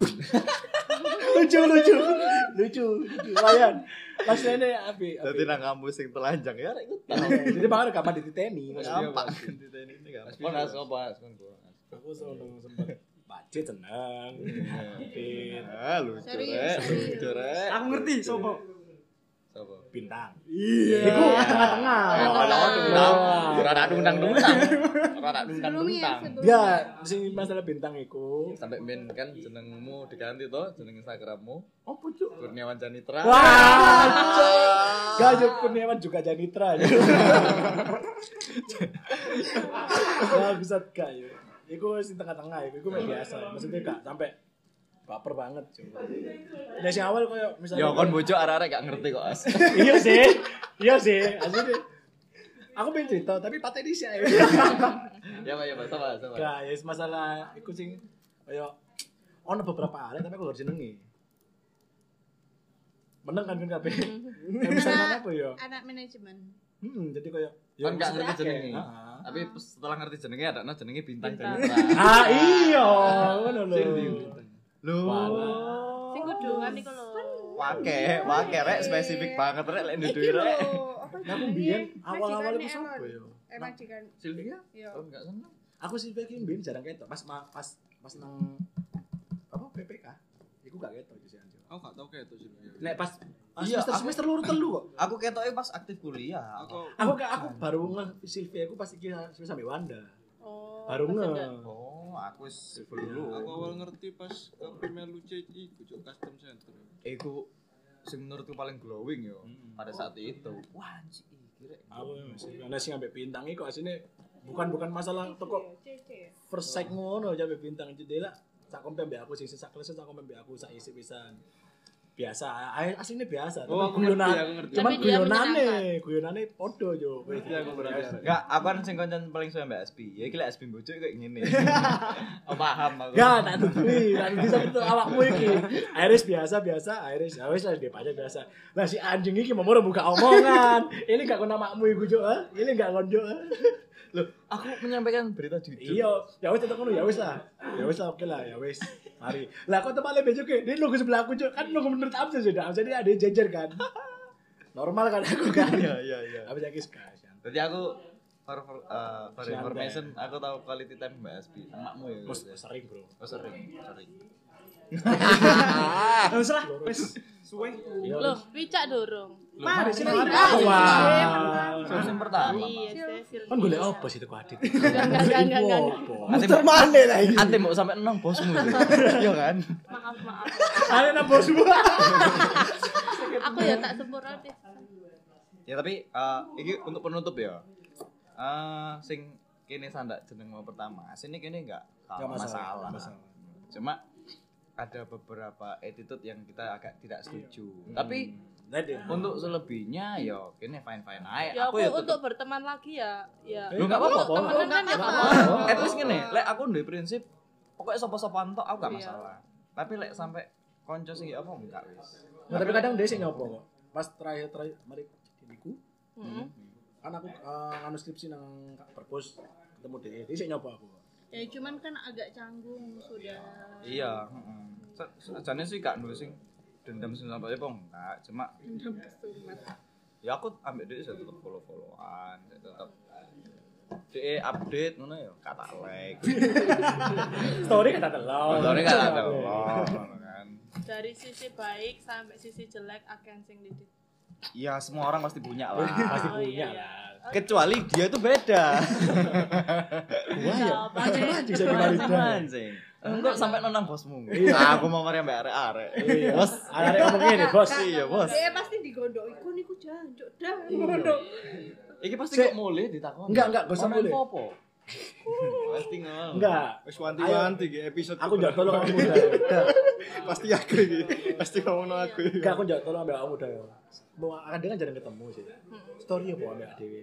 Lucu. Lumayan. Mas Nene api. Dadi nang kampus sing telanjang ya rek iku tau. Jadi bakal rekaman dititeni. Gampang. Ini gampang. Ponas opo? Aku sempat budget tenang. Fit. Ah, lucu Serius, rek. serius. Lucu rek. Aku ngerti sopo. Sapa? Bintang. Iya. Iku tengah-tengah. Ora ada undang-undang. Sebelumnya Ya, sing masalah bintang iku. Sampai men kan jenengmu diganti toh, jeneng Instagrammu Apa cuk? Kurniawan Janitra. Wah, Gajah Kurniawan juga Janitra. Bangsat gak ya. Iku sing tengah-tengah iku media biasa. Maksudnya gak sampai baper banget cuy. Dari sing awal koyo misalnya Ya kon bojo arek-arek gak ngerti kok as. Iya sih. Asline aku pengen cerita tapi pateni sih. Ya Pak, sama. Gak, ya masalah iku sing koyo ono beberapa arek tapi aku harus jenenge. meneng kan kabeh. Misalnya apa ya? Anak manajemen. Jadi kayak Kan gak ngerti maksudnya jenenge. akeh. Tapi setelah ngerti jenenge ada jenenge bintang Bintang. Citra. Iya, ngono lho. Lho. Sing kudungan iku lho. Wake rek spesifik banget rek lek Iki nduwe lho, rek. apa Nah, aku jenenge? mbiyen awal-awal Majikannya itu sapa Elon. ya? Majikan. Sylvia? Iya. Oh enggak seneng. Aku sih iki mbiyen jarang ketok pas nang apa PPK. Iku gak ketok sih anjir. Aku gak tau kayak itu sih. Nek pas Iya, semester loro telu kok. Aku ketoke pas aktif kuliah. Aku Aku baru Sylvia aku pas iki sampe Wanda. Oh. Baru pas nge. ada. Oh, aku wis dulu. Aku awal ngerti pas kabeh melu CI iku custom center. Iku sing menurutku paling glowing yo pada saat itu. Wah, anjir iki rek. Aku masih ana sing ambek bintang iku asine bukan masalah toko CC. first sight ngono aja ambek bintang jendela sak kompe ambek aku sing sak kelas sak kompe ambek aku sak isi pisan. Biasa, aslinya biasa. Oh, aku ngerti, aku ngerti. Cuman Tapi dia guyonane podo yo. Aku belajar. Enggak, aku kan sing koncan paling suwe mbak SP. Ya iki lek SP bocok kayak ngene. Oh, paham aku. Enggak, tak tutui, bisa itu awakmu iki. Iris biasa, Iris. Ya wis lah dia aja biasa. Lah si anjing iki mau buka omongan. Ini gak kon namamu iku, Cuk. Ini gak kon, Cuk. Loh, aku menyampaikan berita jujur. Iya, ya wis tetep ngono, ya wis lah. Ya wis lah, oke lah, ya wis. Mari. Lah kok tempat lebih juga, dia nunggu sebelah aku, Cuk. Kan nunggu menurut Amsa sudah. Amsa dia ada jejer kan. Normal kan aku kan. Iya. Habis lagi sekali. Jadi aku for information aku tahu quality time Mbak SP. Emakmu ya. Bos sering, Bro. Oh, sering. Wis lah, wis suwe. Iya. Loh, wicak dorong. Mari sini. Wah. Yang pertama. Iya, Cecil. Kan golek apa sih itu Adit? Enggak. Muter mana lagi? Ate mau sampai 6 bosmu. Iya kan? Maaf. Ada nang bosmu. Aku ya tak sempurna sih. Ya tapi ini untuk penutup ya. Sing kene sandak jeneng mau pertama. Sini kene enggak masalah. Cuma ada beberapa attitude yang kita agak tidak setuju. Tapi untuk selebihnya ya kene fine aja. Ya aku ya untuk berteman lagi ya. Lu enggak apa-apa. Temenan kan ya apa? At least ngene, lek aku duwe prinsip pokoknya sapa-sapaan tok aku gak Iya. masalah. Tapi lek sampai konco sing apa enggak wis. Nah, tapi kadang dia sih nyopo kok. Pas terakhir mari diku. Kan aku anu skripsi nang perpus ketemu dia sih nyopo aku. Ya cuman kan agak canggung sudah. Iya, sajane sih gak nulis sing dendam sing sampai apa enggak, cuma Dendam kesumat. ya aku ambil dia saya tetap follow-followan, saya tetap DE update ngono ya, kata like. Story kata telur. Motornya kata telur kan. Dari sisi baik sampai sisi jelek akan sing didit. Iya, semua orang pasti punya lah. Pasti Oh, punya iya. lah. Kecuali dia tuh beda. Wah ya, mancing-mancing saya kemarin. Mancing. Enggak sampai nonang bosmu. Iya. Aku mau mari ambek arek-arek. Iya. Bos, Arek ngomong ngene, Bos. Iya, Bos. Dia pasti digodok iku niku jancuk dah ngono. Iki pasti Sik. kok mulai ditakoni. Enggak, gak usah Komen mulai. Popo. Pasti ngono. Enggak. Wis wanti-wanti iki episode. Aku njak tolong kamu dah. pasti aku iki. Pasti ngomongno aku. Enggak, aku njak tolong ambek kamu dah. Mau akan dia kan jarang ketemu sih. Story apa ambek dhewe.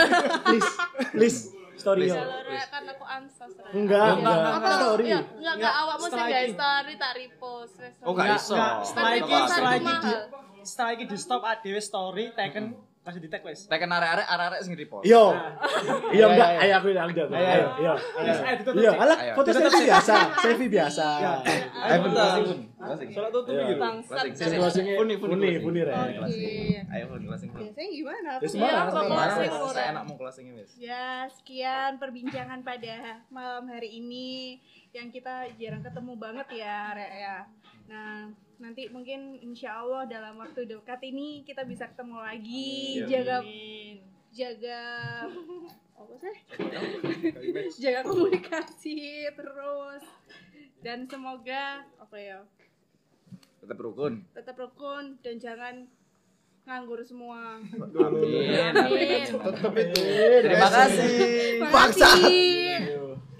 Please. Story ya. Kalau rek kan aku ansas rek. Enggak, Apa story. Ya, enggak awakmu sing setelah gawe iki. story tak repost wes. Oh, gak iso. Setelah iki Tapi setelah iki mahal. setelah iki di stop dhewe story teken kasih di tag wis. Teken arek-arek sing repost. Iya. Iya enggak, ayo aku yang jawab. Ayo. Ayo. Ayo, ditutup, Iya, Cik. alah Ayo. foto selfie biasa, selfie biasa. Ayo pun closing. Salah tutup Iya. iki lho. Bangsat. Sing closing-nya Funi rek. Oke. Ayo pun closing. Biasanya gimana? Ya Iya, sembarang. apa closing Saya kurang. enak mau closing wis. Ya, sekian perbincangan pada malam hari ini yang kita jarang ketemu banget ya, Rek ya. Nah, nanti mungkin insya Allah dalam waktu dekat ini kita bisa ketemu lagi. Jaga apa sih? Jaga komunikasi terus. Dan semoga apa ya? Tetap rukun. Tetap rukun dan jangan nganggur semua. Amin. Amin. Tetep itu. Terima kasih. Terima kasih.